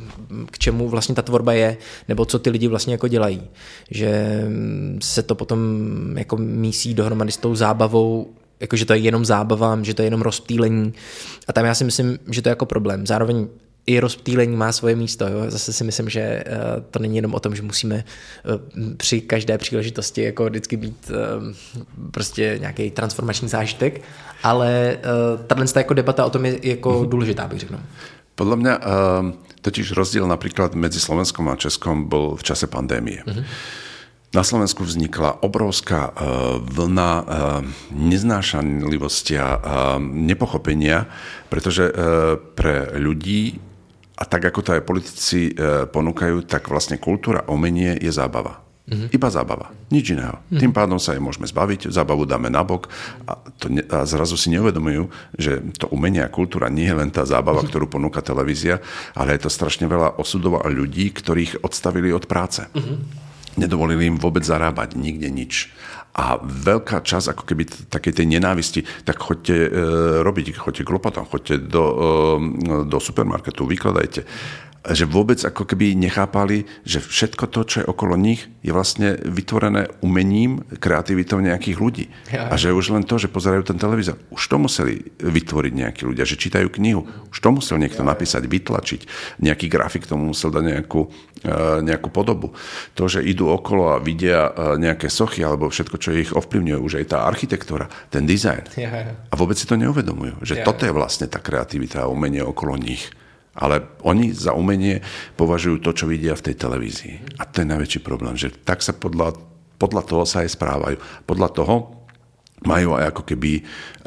k čemu vlastně ta tvorba je, nebo co ty lidi vlastně jako dělají. Že se to potom jako mísí dohromady s tou zábavou, jakože to je jenom zábava, že to je jenom rozptýlení. A tam já si myslím, že to je jako problém. Zároveň i rozptýlení má svoje místo. Jo? Zase si myslím, že uh, to není jenom o tom, že musíme uh, při každé příležitosti jako vždycky být uh, prostě nějaký transformační zážitek, ale uh, tato jako debata o tom je jako mm-hmm. důležitá, bych řekl. Podľa mňa uh, totiž rozdiel napríklad medzi Slovenskom a Českom bol v čase pandémie. Mm-hmm. Na Slovensku vznikla obrovská uh, vlna uh, neznášanlivosti a uh, nepochopenia, pretože uh, pre ľudí a tak, ako to aj politici e, ponúkajú, tak vlastne kultúra a umenie je zábava. Mm-hmm. Iba zábava, nič iného. Mm-hmm. Tým pádom sa aj môžeme zbaviť, zábavu dáme nabok a, to ne, a zrazu si neuvedomujú, že to umenie a kultúra nie je len tá zábava, mm-hmm. ktorú ponúka televízia, ale je to strašne veľa osudov a ľudí, ktorých odstavili od práce. Mm-hmm. Nedovolili im vôbec zarábať, nikde nič. A veľká časť ako keby takej tej nenávisti, tak choďte e, robiť, choďte k lopatom, choďte do, e, do supermarketu, vykladajte. Že vôbec ako keby nechápali, že všetko to, čo je okolo nich, je vlastne vytvorené umením, kreativitou nejakých ľudí. Ja. A že už len to, že pozerajú ten televízor, už to museli vytvoriť nejakí ľudia, že čítajú knihu, už to musel niekto ja. napísať, vytlačiť. Nejaký grafik tomu musel dať nejakú, nejakú podobu. To, že idú okolo a vidia nejaké sochy, alebo všetko, čo ich ovplyvňuje, už aj tá architektúra, ten dizajn. Ja, ja. A vôbec si to neuvedomujú, že ja, toto je vlastne tá kreativita a umenie okolo nich. Ale oni za umenie považujú to, čo vidia v tej televízii. A to je najväčší problém, že tak sa podľa, podľa toho sa aj správajú. Podľa toho majú aj ako keby uh, uh,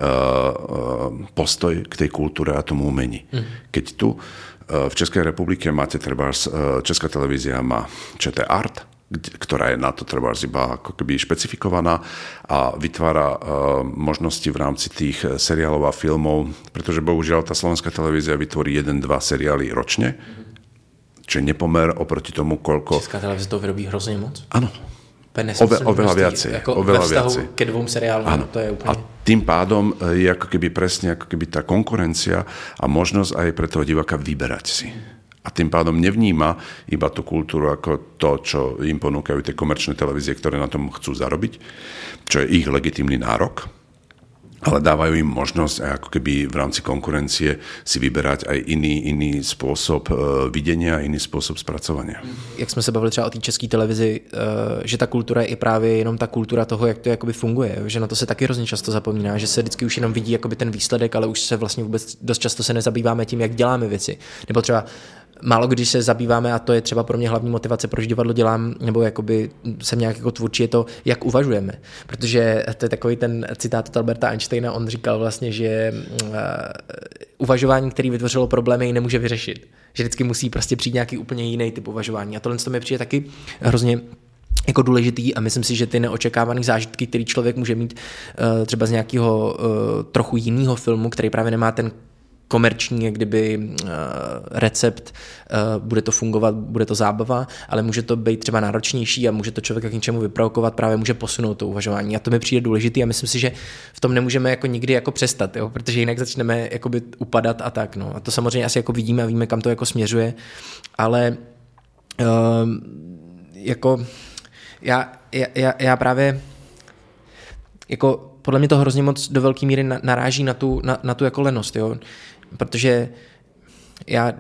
postoj k tej kultúre a tomu umení. Mm. Keď tu uh, v Českej republike máte treba, uh, Česká televízia má ČT Art, ktorá je na to treba iba ako keby špecifikovaná a vytvára uh, možnosti v rámci tých seriálov a filmov, pretože bohužiaľ tá slovenská televízia vytvorí jeden, dva seriály ročne, čo je nepomer oproti tomu, koľko... Česká televízia to vyrobí hrozně moc? Áno. Ove, oveľa viacej. Jako oveľa ve vztahu viacej. ke dvom seriálom, to je úplne... A tým pádom je ako keby presne ako keby tá konkurencia a možnosť aj pre toho diváka vyberať si. A tým pádom nevníma iba tú kultúru ako to, čo im ponúkajú tie komerčné televízie, ktoré na tom chcú zarobiť, čo je ich legitímny nárok, ale dávajú im možnosť aj ako keby v rámci konkurencie si vyberať aj iný, iný spôsob videnia, iný spôsob spracovania. Jak jsme se bavili třeba o té české televizi, že ta kultura je právě jenom ta kultura toho, jak to jakoby funguje, že na to se taky hrozně často zapomíná, že se vždycky už jenom vidí jakoby ten výsledek, ale už se vlastně vůbec dost často se nezabýváme tím, jak děláme věci. Nebo třeba málo když se zabýváme, a to je třeba pro mě hlavní motivace, proč divadlo dělám, nebo jakoby jsem nějak jako tvůrčí, je to, jak uvažujeme. Protože to je takový ten citát od Alberta Einsteina, on říkal vlastně, že uh, uvažování, který vytvořilo problémy, ji nemůže vyřešit. Že vždycky musí prostě přijít nějaký úplně jiný typ uvažování. A tohle to mi přijde taky hrozně jako důležitý a myslím si, že ty neočekávané zážitky, který člověk může mít uh, třeba z nějakého uh, trochu jiného filmu, který právě nemá ten komerční, jak kdyby uh, recept, uh, bude to fungovat, bude to zábava, ale může to být třeba náročnější a může to člověka k něčemu vyprovokovat, právě může posunout to uvažování. A to mi přijde důležitý a myslím si, že v tom nemůžeme jako nikdy jako přestat, jo? Protože jinak začneme jakoby upadat a tak. No. A to samozřejmě asi jako vidíme a víme, kam to jako směřuje, ale uh, jako já, já, já právě jako podle mě to hrozně moc do velké míry naráží na tu, na, na tu jako lenost, jo? Protože já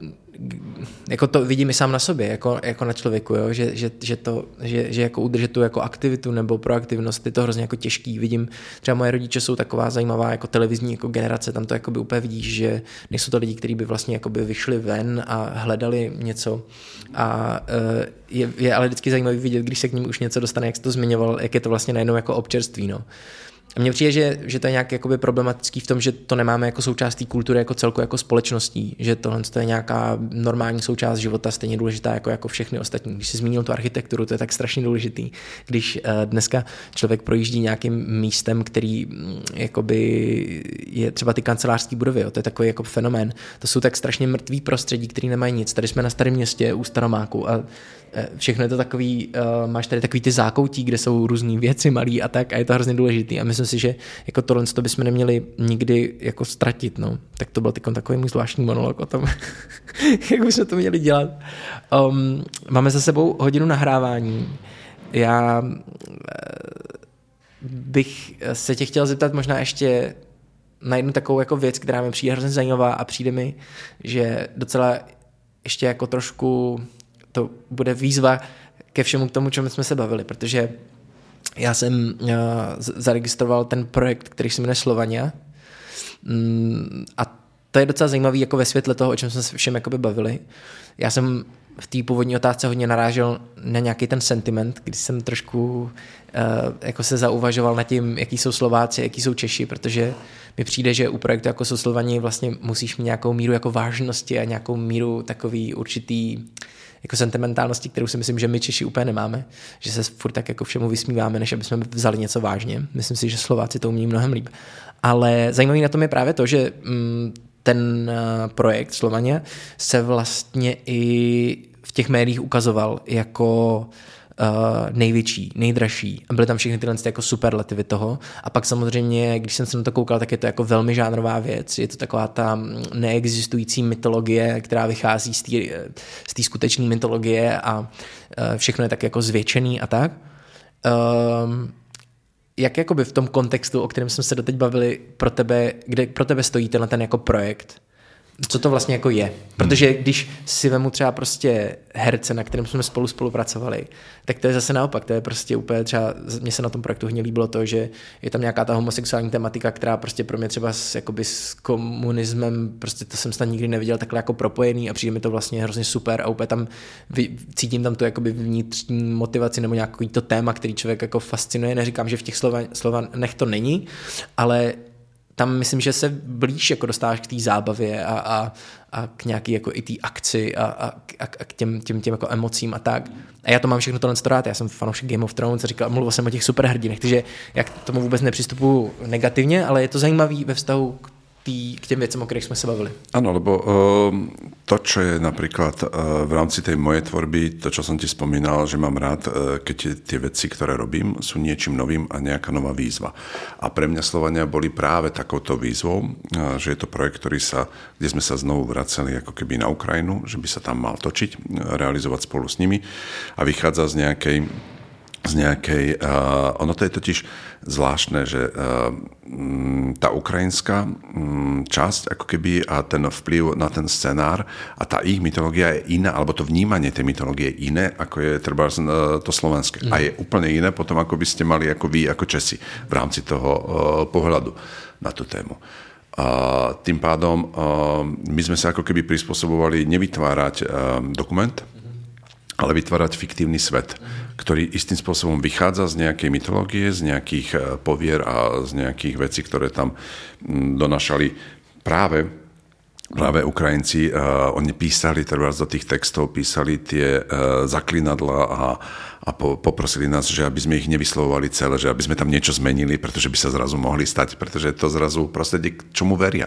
jako to vidím i sám na sobě, jako, jako na člověku, jo? Že, že, že, to, že, že jako udržet tu jako aktivitu nebo proaktivnost je to hrozně jako těžký. Vidím, třeba moje rodiče jsou taková zajímavá jako televizní jako generace, tam to jakoby úplně vidíš, že nejsou to lidi, kteří by vlastně jakoby vyšli ven a hledali něco a je, je ale vždycky zajímavý vidět, když se k ním už něco dostane, jak jsi to zmiňoval, jak je to vlastně najednou jako občerství, no. A mně přijde, že, že to je nějak jakoby problematický v tom, že to nemáme jako součást té kultury jako celku jako společností, že tohle to je nějaká normální součást života, stejně důležitá jako, jako všechny ostatní. Když jsi zmínil tu architekturu, to je tak strašně důležitý. Když uh, dneska člověk projíždí nějakým místem, který jakoby je třeba ty kancelářské budovy, jo, to je takový jako fenomén. To jsou tak strašně mrtvý prostředí, který nemají nic. Tady jsme na Starém Městě u Staromáku a všechno je to takový, uh, máš tady takový ty zákoutí, kde jsou různý věci malý a tak a je to hrozně důležitý a myslím si, že jako tohle to bychom neměli nikdy jako ztratit, no. Tak to byl takový můj zvláštní monolog o tom, jak bychom to měli dělat. Um, máme za sebou hodinu nahrávání. Já bych se tě chtěl zeptat možná ještě na jednu takovou jako věc, která mi přijde hrozně zajímavá a přijde mi, že docela ještě jako trošku to bude výzva ke všemu k tomu, čemu jsme se bavili, protože já jsem uh, zaregistroval ten projekt, který se jmenuje Slovania mm, a to je docela zajímavý jako ve světle toho, o čem jsme se všem jakoby bavili. Já jsem v té původní otázce hodně narážel na nějaký ten sentiment, když jsem trošku uh, jako se zauvažoval nad tím, jaký jsou Slováci, jaký jsou Češi, protože mi přijde, že u projektu jako jsou Slovani vlastně musíš mít nějakou míru jako vážnosti a nějakou míru takový určitý jako sentimentálnosti, kterou si myslím, že my Češi úplně nemáme, že se furt tak jako všemu vysmíváme, než aby jsme vzali něco vážně. Myslím si, že Slováci to umí mnohem líp. Ale zajímavý na tom je právě to, že mm, ten projekt Slovania se vlastně i v těch médiích ukazoval jako uh, největší, nejdražší. A byly tam všechny tyhle jako superlativy toho. A pak samozřejmě, když jsem se na to koukal, tak je to jako velmi žánrová věc. Je to taková ta neexistující mytologie, která vychází z té skutečné mytologie a uh, všechno je tak jako zvětšený a tak. Um, Jak jakoby v tom kontextu, o kterém jsme se doteď bavili, pro tebe, kde pro tebe stojí tenhle ten jako projekt? Co to vlastně jako je? Protože když si vemu třeba prostě herce, na kterém jsme spolu spolupracovali, tak to je zase naopak, to je prostě úplně třeba, mně se na tom projektu hodně líbilo to, že je tam nějaká ta homosexuální tematika, která prostě pro mě třeba s, jakoby s komunismem, prostě to jsem snad nikdy neviděl takhle jako propojený a přijde mi to vlastně hrozně super a úplně tam cítím tam tu jakoby vnitřní motivaci nebo nějaký to téma, který člověk jako fascinuje. Neříkám, že v těch slova, slovanech to není, ale tam myslím, že se blíž jako dostáváš k té zábavě a, a, a k nějaký jako i té akci a, a, a k těm, těm, těm jako emocím a tak. A já to mám všechno tohle rád. Já jsem fanoušek Game of Thrones a říkal, mluvil jsem o těch superhrdinech, takže já k tomu vůbec nepřistupuji negativně, ale je to zajímavý ve vztahu k, tý, k těm věcem, o kterých jsme se bavili. Áno, lebo uh, to, čo je napríklad uh, v rámci tej mojej tvorby, to, čo som ti spomínal, že mám rád, uh, keď tie veci, ktoré robím, sú niečím novým a nejaká nová výzva. A pre mňa Slovania boli práve takouto výzvou, uh, že je to projekt, ktorý sa, kde sme sa znovu vraceli ako keby na Ukrajinu, že by sa tam mal točiť, uh, realizovať spolu s nimi a vychádza z nejakej z nejakej, uh, ono to je totiž zvláštne, že uh, tá ukrajinská um, časť ako keby a ten vplyv na ten scenár a tá ich mytológia je iná, alebo to vnímanie tej mytológie je iné, ako je treba uh, to slovenské. Mm. A je úplne iné potom, ako by ste mali ako vy, ako Česi v rámci toho uh, pohľadu na tú tému. Uh, tým pádom uh, my sme sa ako keby prispôsobovali nevytvárať uh, dokument, ale vytvárať fiktívny svet, ktorý istým spôsobom vychádza z nejakej mytológie, z nejakých povier a z nejakých vecí, ktoré tam donášali práve, práve Ukrajinci. Uh, oni písali, teda do tých textov písali tie uh, zaklinadla a, a po, poprosili nás, že aby sme ich nevyslovovali celé, že aby sme tam niečo zmenili, pretože by sa zrazu mohli stať, pretože to zrazu prostredie, k čomu veria.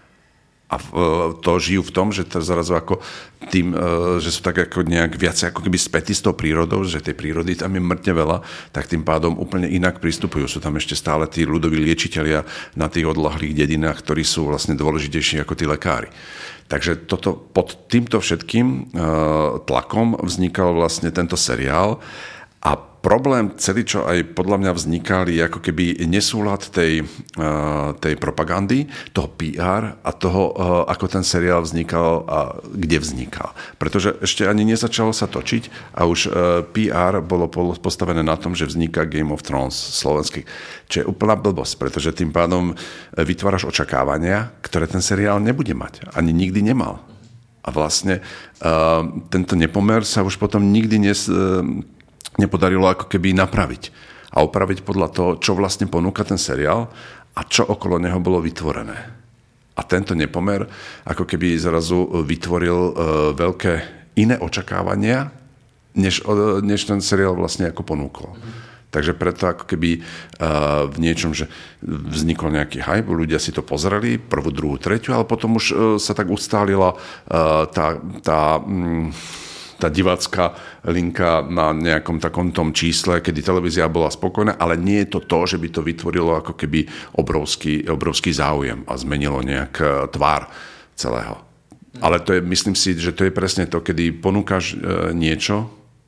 A to žijú v tom, že to zrazu ako tým, že sú tak ako nejak viacej ako keby spätí s tou prírodou, že tej prírody tam je mŕtne veľa, tak tým pádom úplne inak pristupujú. Sú tam ešte stále tí ľudoví liečitelia na tých odlahlých dedinách, ktorí sú vlastne dôležitejší ako tí lekári. Takže toto, pod týmto všetkým tlakom vznikal vlastne tento seriál a problém celý, čo aj podľa mňa vznikal, je ako keby nesúlad tej, tej propagandy, toho pé er a toho, ako ten seriál vznikal a kde vznikal. Pretože ešte ani nezačalo sa točiť a už pé er bolo postavené na tom, že vzniká Game of Thrones slovenský, čo je úplná blbosť, pretože tým pádom vytváraš očakávania, ktoré ten seriál nebude mať. Ani nikdy nemal. A vlastne tento nepomer sa už potom nikdy nes nepodarilo ako keby napraviť a opraviť podľa toho, čo vlastne ponúka ten seriál a čo okolo neho bolo vytvorené. A tento nepomer ako keby zrazu vytvoril uh, veľké iné očakávania, než, uh, než ten seriál vlastne ako ponúkol. Mm-hmm. Takže preto ako keby uh, v niečom, že vznikol nejaký hype, ľudia si to pozreli, prvú, druhú, tretiu, ale potom už uh, sa tak ustálila uh, tá... tá um, tá divácka linka na nejakom takom tom čísle, kedy televízia bola spokojná, ale nie je to to, že by to vytvorilo ako keby obrovský, obrovský záujem a zmenilo nejak tvár celého. Ale to je, myslím si, že to je presne to, kedy ponúkaš niečo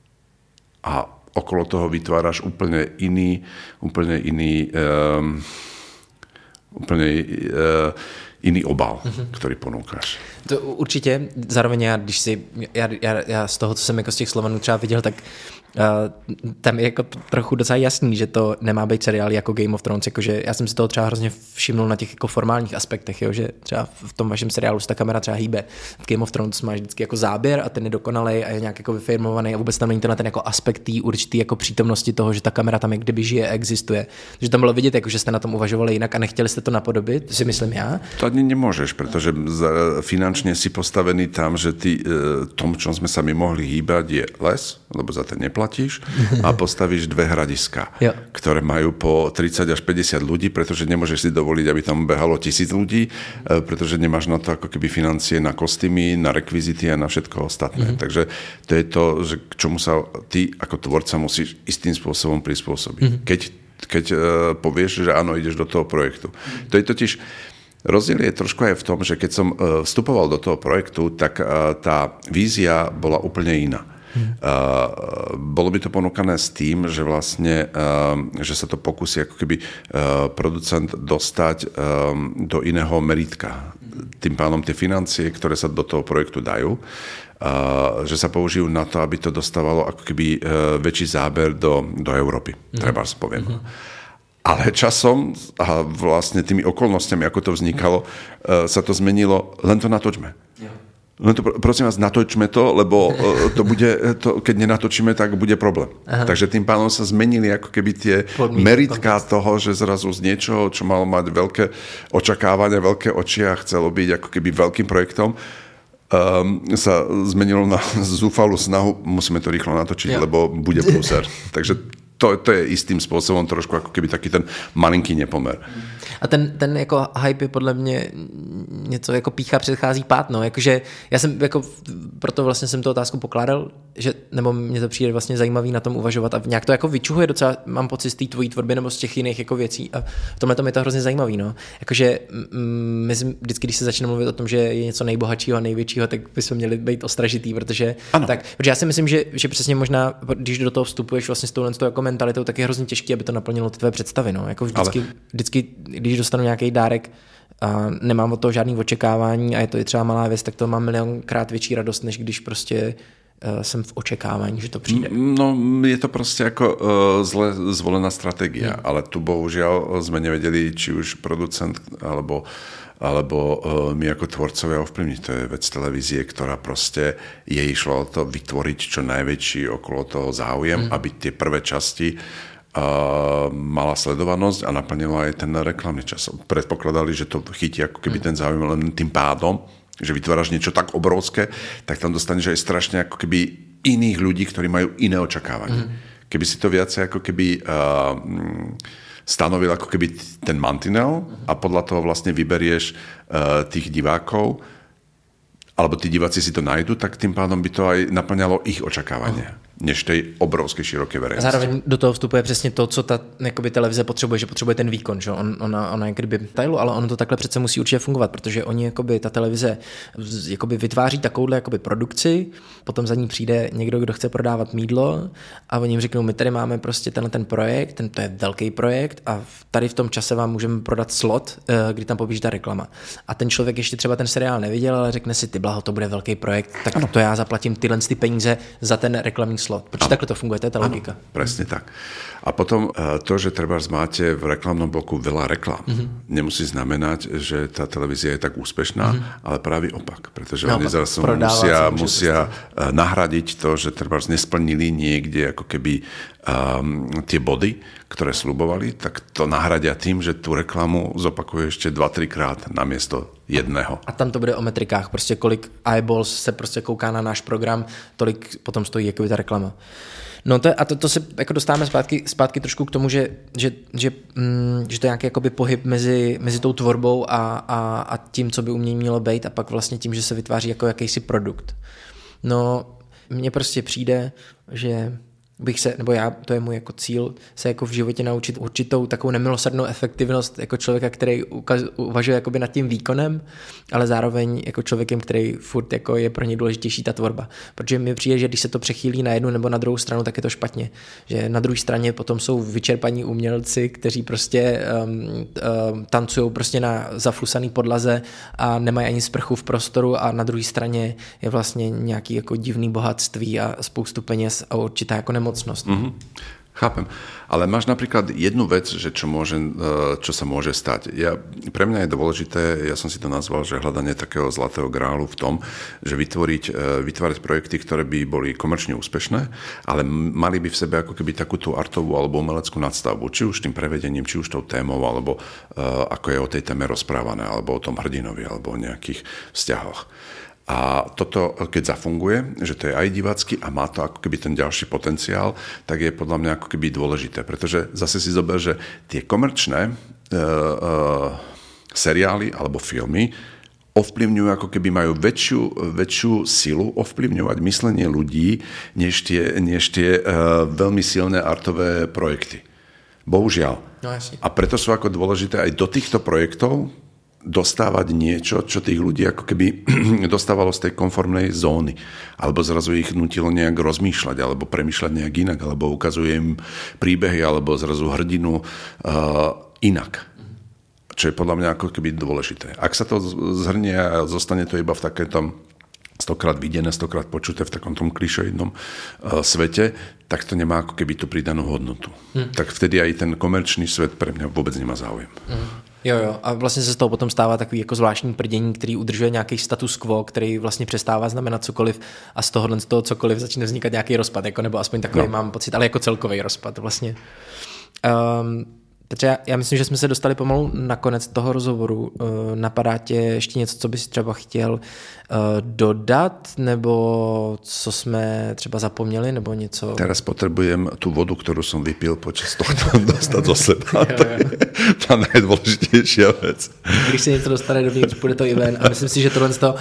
a okolo toho vytváraš úplne iný, úplne iný, um, úplne uh, iný obal, mm-hmm. ktorý ponúkáš. To určitě, zároveň já, když si, já, já, já z toho, co jsem jako z těch Slovanů třeba viděl, tak uh, tam je jako trochu docela jasný, že to nemá být seriál jako Game of Thrones, jakože já jsem si toho třeba hrozně všimnul na těch jako formálních aspektech, jo, že třeba v tom vašem seriálu se ta kamera třeba hýbe. V Game of Thrones máš vždycky jako záběr a ten je dokonalej a je nějak jako vyfilmovaný a vůbec tam není ten, ten jako aspekt tý určitý jako přítomnosti toho, že ta kamera tam jak kdyby žije, existuje. Takže tam bylo vidět, jako, že jste na tom uvažovali jinak a nechtěli jste to napodobit, to si myslím já. To ani nemôžeš, pretože finančne si postavený tam, že ty tom, čom sme sa my mohli hýbať, je les, lebo za ten neplatíš, a postavíš dve hradiská, jo. ktoré majú po tridsať až päťdesiat ľudí, pretože nemôžeš si dovoliť, aby tam behalo tisíc ľudí, pretože nemáš na to ako keby financie na kostýmy, na rekvizity a na všetko ostatné. Mm-hmm. Takže to je to, že k čomu sa ty ako tvorca musíš istým spôsobom prispôsobiť. Mm-hmm. Keď keď uh, povieš, že áno, ideš do toho projektu. Mm. To je totiž, rozdiel je trošku aj v tom, že keď som uh, vstupoval do toho projektu, tak uh, tá vízia bola úplne iná. Mm. Uh, bolo by to ponúkané s tým, že vlastne, uh, že sa to pokusí ako keby uh, producent dostať um, do iného meritka. Tým pádom tie financie, ktoré sa do toho projektu dajú, Uh, že sa použijú na to, aby to dostávalo ako keby uh, väčší záber do, do Európy. Mm. Treba spoviem. Mm. Ale časom a vlastne tými okolnostiami, ako to vznikalo, uh, sa to zmenilo, len to natočme. Yeah. Len to, prosím vás, natočme to, lebo uh, to bude, to, keď nenatočíme, tak bude problém. Aha. Takže tým pádom sa zmenili ako keby tie Podmínky, meritka podmínky. Toho, že zrazu z niečoho, čo malo mať veľké očakávania, veľké oči a chcelo byť ako keby veľkým projektom, Um, sa zmenilo na zúfalú snahu, musíme to rýchlo natočiť, ja. Lebo bude prúser. Takže to, to je istým spôsobom trošku ako keby taký ten malinký nepomer. A ten, ten jako hype je podle mě něco jako pícha předchází pád, no. Jakože já jsem jako, proto vlastně jsem tu otázku pokládal, že, nebo mně to přijde vlastně zajímavý na tom uvažovat a nějak to jako vyčuhuje docela, mám pocit z té tvojí tvorby nebo z těch jiných jako věcí a v tomhle tom je to hrozně zajímavý, no. Jakože my vždycky, když se začne mluvit o tom, že je něco nejbohatšího a největšího, tak bychom měli být ostražitý, protože tak, protože já si myslím, že, že přesně možná, když do toho vstupuješ vlastně s touhle jako mentalitou, tak je hrozně těžký, aby to naplnilo tvé představy, no. Jako vždycky, Ale... vždycky, když dostanu nějaký dárek a nemám od toho žádný očekávání a je to i třeba malá věc, tak to mám milionkrát větší radost, než když prostě uh, jsem v očekávání, že to přijde. No, je to prostě jako uh, zle zvolená strategia, hmm. ale tu bohužiaľ sme nevedeli, či už producent alebo alebo uh, my ako tvorcovia ovplyvniť. To je vec televízie, ktorá proste jej išlo o to vytvoriť čo najväčší okolo toho záujem, hmm. aby tie prvé časti uh, mala sledovanosť a naplnila aj ten reklamný čas. Predpokladali, že to chytí ako keby hmm. ten záujem len tým pádom, že vytváraš niečo tak obrovské, tak tam dostaneš aj strašne ako keby iných ľudí, ktorí majú iné očakávanie. Hmm. Keby si to viacej ako keby uh, stanovil ako keby ten mantinel a podľa toho vlastne vyberieš uh, tých divákov, alebo tí diváci si to nájdu, tak tým pádom by to aj naplňalo ich očakávanie. Oh. než tej obrovské široké verejnosti. Zároveň do toho vstupuje přesně to, co ta jakoby, televize potřebuje, že potřebuje ten výkon, že on, ona, ona je kdyby tajlu, ale ono to takhle přece musí určitě fungovat, protože oni, jakoby, ta televize jakoby, vytváří takovouhle jakoby, produkci, potom za ní přijde někdo, kdo chce prodávat mýdlo a oni jim řeknou, my tady máme prostě tenhle ten projekt, ten, to je velký projekt a tady v tom čase vám můžeme prodat slot, kdy tam poběží ta reklama. A ten člověk ještě třeba ten seriál neviděl, ale řekne si, ty blaho, to bude velký projekt, tak ano. To já zaplatím tyhle ty peníze za ten reklamní slot. Protože takhle to funguje, to je ta logika. Ano, presne tak. A potom to, že trebárs máte v reklamnom bloku veľa reklam, mm-hmm. nemusí znamenať, že tá televízia je tak úspešná, mm-hmm. ale práve opak, pretože no, oni zase musia, musia nahradiť to, že trebárs nesplnili niekde ako keby um, tie body, ktoré slubovali, tak to nahradia tým, že tú reklamu zopakuje ešte dva tri krát namiesto jedného. A tam to bude o metrikách, prostě kolik eyeballs se prostě kouká na náš program, tolik potom stojí jakoby ta reklama. No to je, a to, to se jako dostáváme zpátky, zpátky trošku k tomu, že, že, že, mm, že to je nějaký jakoby pohyb mezi, mezi tou tvorbou a, a, a tím, co by umění mělo být a pak vlastně tím, že se vytváří jako jakýsi produkt. No mně prostě přijde, že bych se, nebo já, to je můj jako cíl, se jako v životě naučit určitou takovou nemilosrdnou efektivnost jako člověka, který ukaz, uvažuje jakoby nad tím výkonem, ale zároveň jako člověkem, který furt jako je pro něj důležitější ta tvorba. Protože mi přijde, že když se to přechýlí na jednu nebo na druhou stranu, tak je to špatně. Že na druhé straně potom jsou vyčerpaní umělci, kteří prostě um, um, tancují prostě na zaflusaný podlaze a nemají ani sprchu v prostoru a na druhé straně je vlastně nějaký jako divný bohatství a spoustu peněz a určitá jako nemocnost. Mm-hmm. Chápem. Ale máš napríklad jednu vec, že čo, môže, čo sa môže stať. Ja, pre mňa je dôležité, ja som si to nazval, že hľadanie takého zlatého grálu v tom, že vytvoriť, vytvárať projekty, ktoré by boli komerčne úspešné, ale mali by v sebe ako keby takú tú artovú alebo umeleckú nadstavbu. Či už tým prevedením, či už tou témou, alebo uh, ako je o tej téme rozprávané, alebo o tom hrdinovi, alebo o nejakých vzťahoch. A toto, keď zafunguje, že to je aj divácky a má to ako keby ten ďalší potenciál, tak je podľa mňa ako keby dôležité. Pretože zase si zober, že tie komerčné uh, uh, seriály alebo filmy ovplyvňujú, ako keby majú väčšiu, väčšiu silu ovplyvňovať myslenie ľudí, než tie, než tie uh, veľmi silné artové projekty. Bohužiaľ. No, a preto sú ako dôležité aj do týchto projektov dostávať niečo, čo tých ľudí ako keby dostávalo z tej konformnej zóny. Alebo zrazu ich nutilo nejak rozmýšľať, alebo premýšľať nejak inak, alebo ukazuje im príbehy, alebo zrazu hrdinu uh, inak. Čo je podľa mňa ako keby dôležité. Ak sa to zhrnie a zostane to iba v takéto stokrát videné, stokrát počuté v takom tom klišoidnom uh, svete, tak to nemá ako keby tú pridanú hodnotu. Hm. Tak vtedy aj ten komerčný svet pre mňa vôbec nemá záujem. Hm. Jo, jo. A vlastně se z toho potom stává takový jako zvláštní prdění, který udržuje nějaký status quo, který vlastně přestává znamenat cokoliv a z tohohle z toho cokoliv začne vznikat nějaký rozpad, jako, nebo aspoň takový no. mám pocit, ale jako celkový rozpad vlastně. Um, takže já, já myslím, že jsme se dostali pomalu na konec toho rozhovoru. Uh, napadá tě ještě něco, co bys třeba chtěl uh, dodat, nebo co jsme třeba zapomněli, nebo něco? Teraz potrebujem tú vodu, ktorú som vypil počas tohto dostať zo seba. To je tá najdôležitejšia vec. Když se něco dostane dovnitř, půjde to i ven. A myslím si, že tohle uh,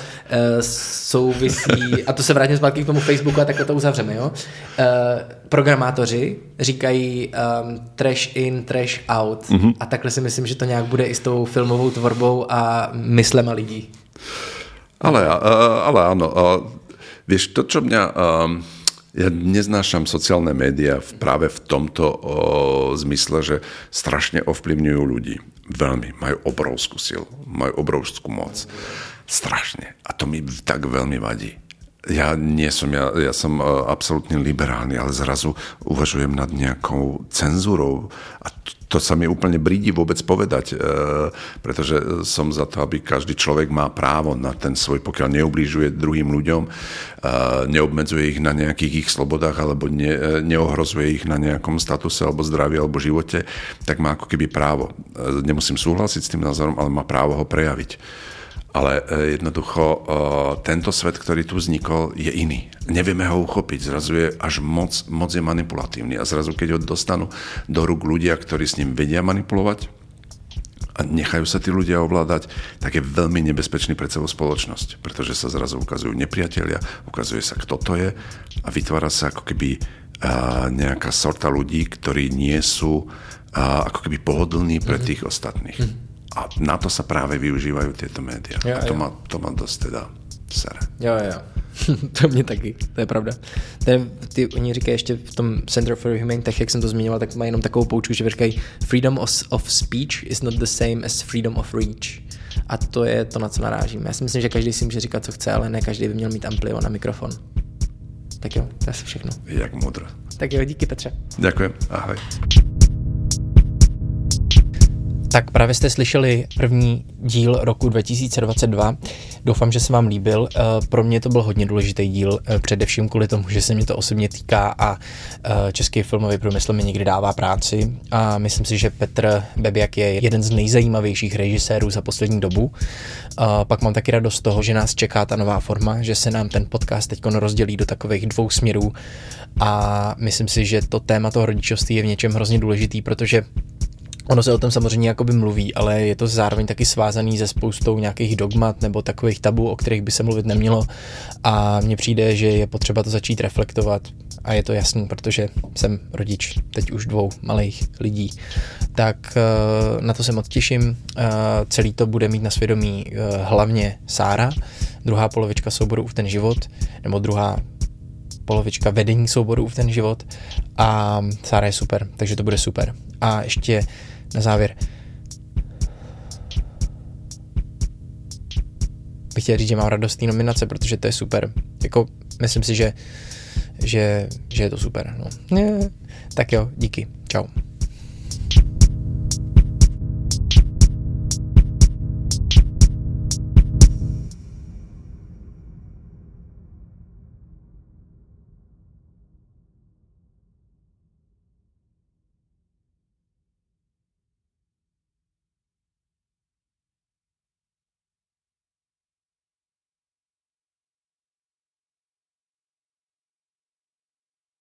souvisí, a to se vrátím zpátky k tomu Facebooku a takhle to uzavřeme, jo? Uh, programátoři říkají um, trash in, trash out. Mm-hmm. A takhle si myslím, že to nějak bude i s tou filmovou tvorbou a myslema lidí. Ale, ale áno. Vieš, to, čo mňa... Ja neznášam sociálne médiá práve v tomto o, zmysle, že strašne ovplyvňujú ľudí. Veľmi. Majú obrovskú silu. Majú obrovskú moc. Strašne. A to mi tak veľmi vadí. Ja nie som, ja, ja som absolútne liberálny, ale zrazu uvažujem nad nejakou cenzúrou a to, to sa mi úplne brídi vôbec povedať, e, pretože som za to, aby každý človek má právo na ten svoj, pokiaľ neublížuje druhým ľuďom, e, neobmedzuje ich na nejakých ich slobodách alebo ne, neohrozuje ich na nejakom statuse alebo zdraví alebo živote, tak má ako keby právo. E, nemusím súhlasiť s tým názorom, ale má právo ho prejaviť. Ale jednoducho tento svet, ktorý tu vznikol, je iný. Nevieme ho uchopiť. Zrazu je až moc, moc je manipulatívny. A zrazu, keď ho dostanú do rúk ľudia, ktorí s ním vedia manipulovať a nechajú sa tí ľudia ovládať, tak je veľmi nebezpečný pre celú spoločnosť. Pretože sa zrazu ukazujú nepriatelia, ukazuje sa, kto to je a vytvára sa ako keby nejaká sorta ľudí, ktorí nie sú ako keby pohodlní pre tých ostatných. A na to sa práve využívajú tieto médiá. Jo, a to, jo. Má, to má dosť teda sere. Jo, jo. To mě taky, to je pravda. Ten, ty, oni říkají ještě v tom Center for Humane Tech, jak jsem to zmiňoval, tak má jenom takovou poučku, že říkají freedom of, of speech is not the same as freedom of reach. A to je to, na co narážím. Já si myslím, že každý si může říkat, co chce, ale ne každý by měl mít amplio na mikrofon. Tak jo, to je asi všechno. Jak modro. Tak jo, díky Petře. Ďakujem, ahoj. Tak právě jste slyšeli první díl roku dva tisíce dvacet dva. Doufám, že se vám líbil. Pro mě to byl hodně důležitý díl, především kvůli tomu, že se mě to osobně týká a český filmový průmysl mi někdy dává práci. A myslím si, že Petr Bebiak je jeden z nejzajímavějších režisérů za poslední dobu. A pak mám taky radost z toho, že nás čeká ta nová forma, že se nám ten podcast teď rozdělí do takových dvou směrů. A myslím si, že to téma toho rodičovství je v něčem hrozně důležitý, protože ono se o tom samozřejmě jakoby mluví, ale je to zároveň taky svázaný se spoustou nějakých dogmat nebo takových tabů, o kterých by se mluvit nemělo a mně přijde, že je potřeba to začít reflektovat a je to jasný, protože jsem rodič teď už dvou malých lidí. Tak na to se moc těším. Celý to bude mít na svědomí hlavně Sára, druhá polovička souboru V ten život, nebo druhá polovička vedení souboru V ten život a Sára je super, takže to bude super. A ještě na závěr bych chtěl říct, že mám radost té nominace, protože to je super. Jako, myslím si, že že, že je to super. No. Ne, tak jo, díky. Čau.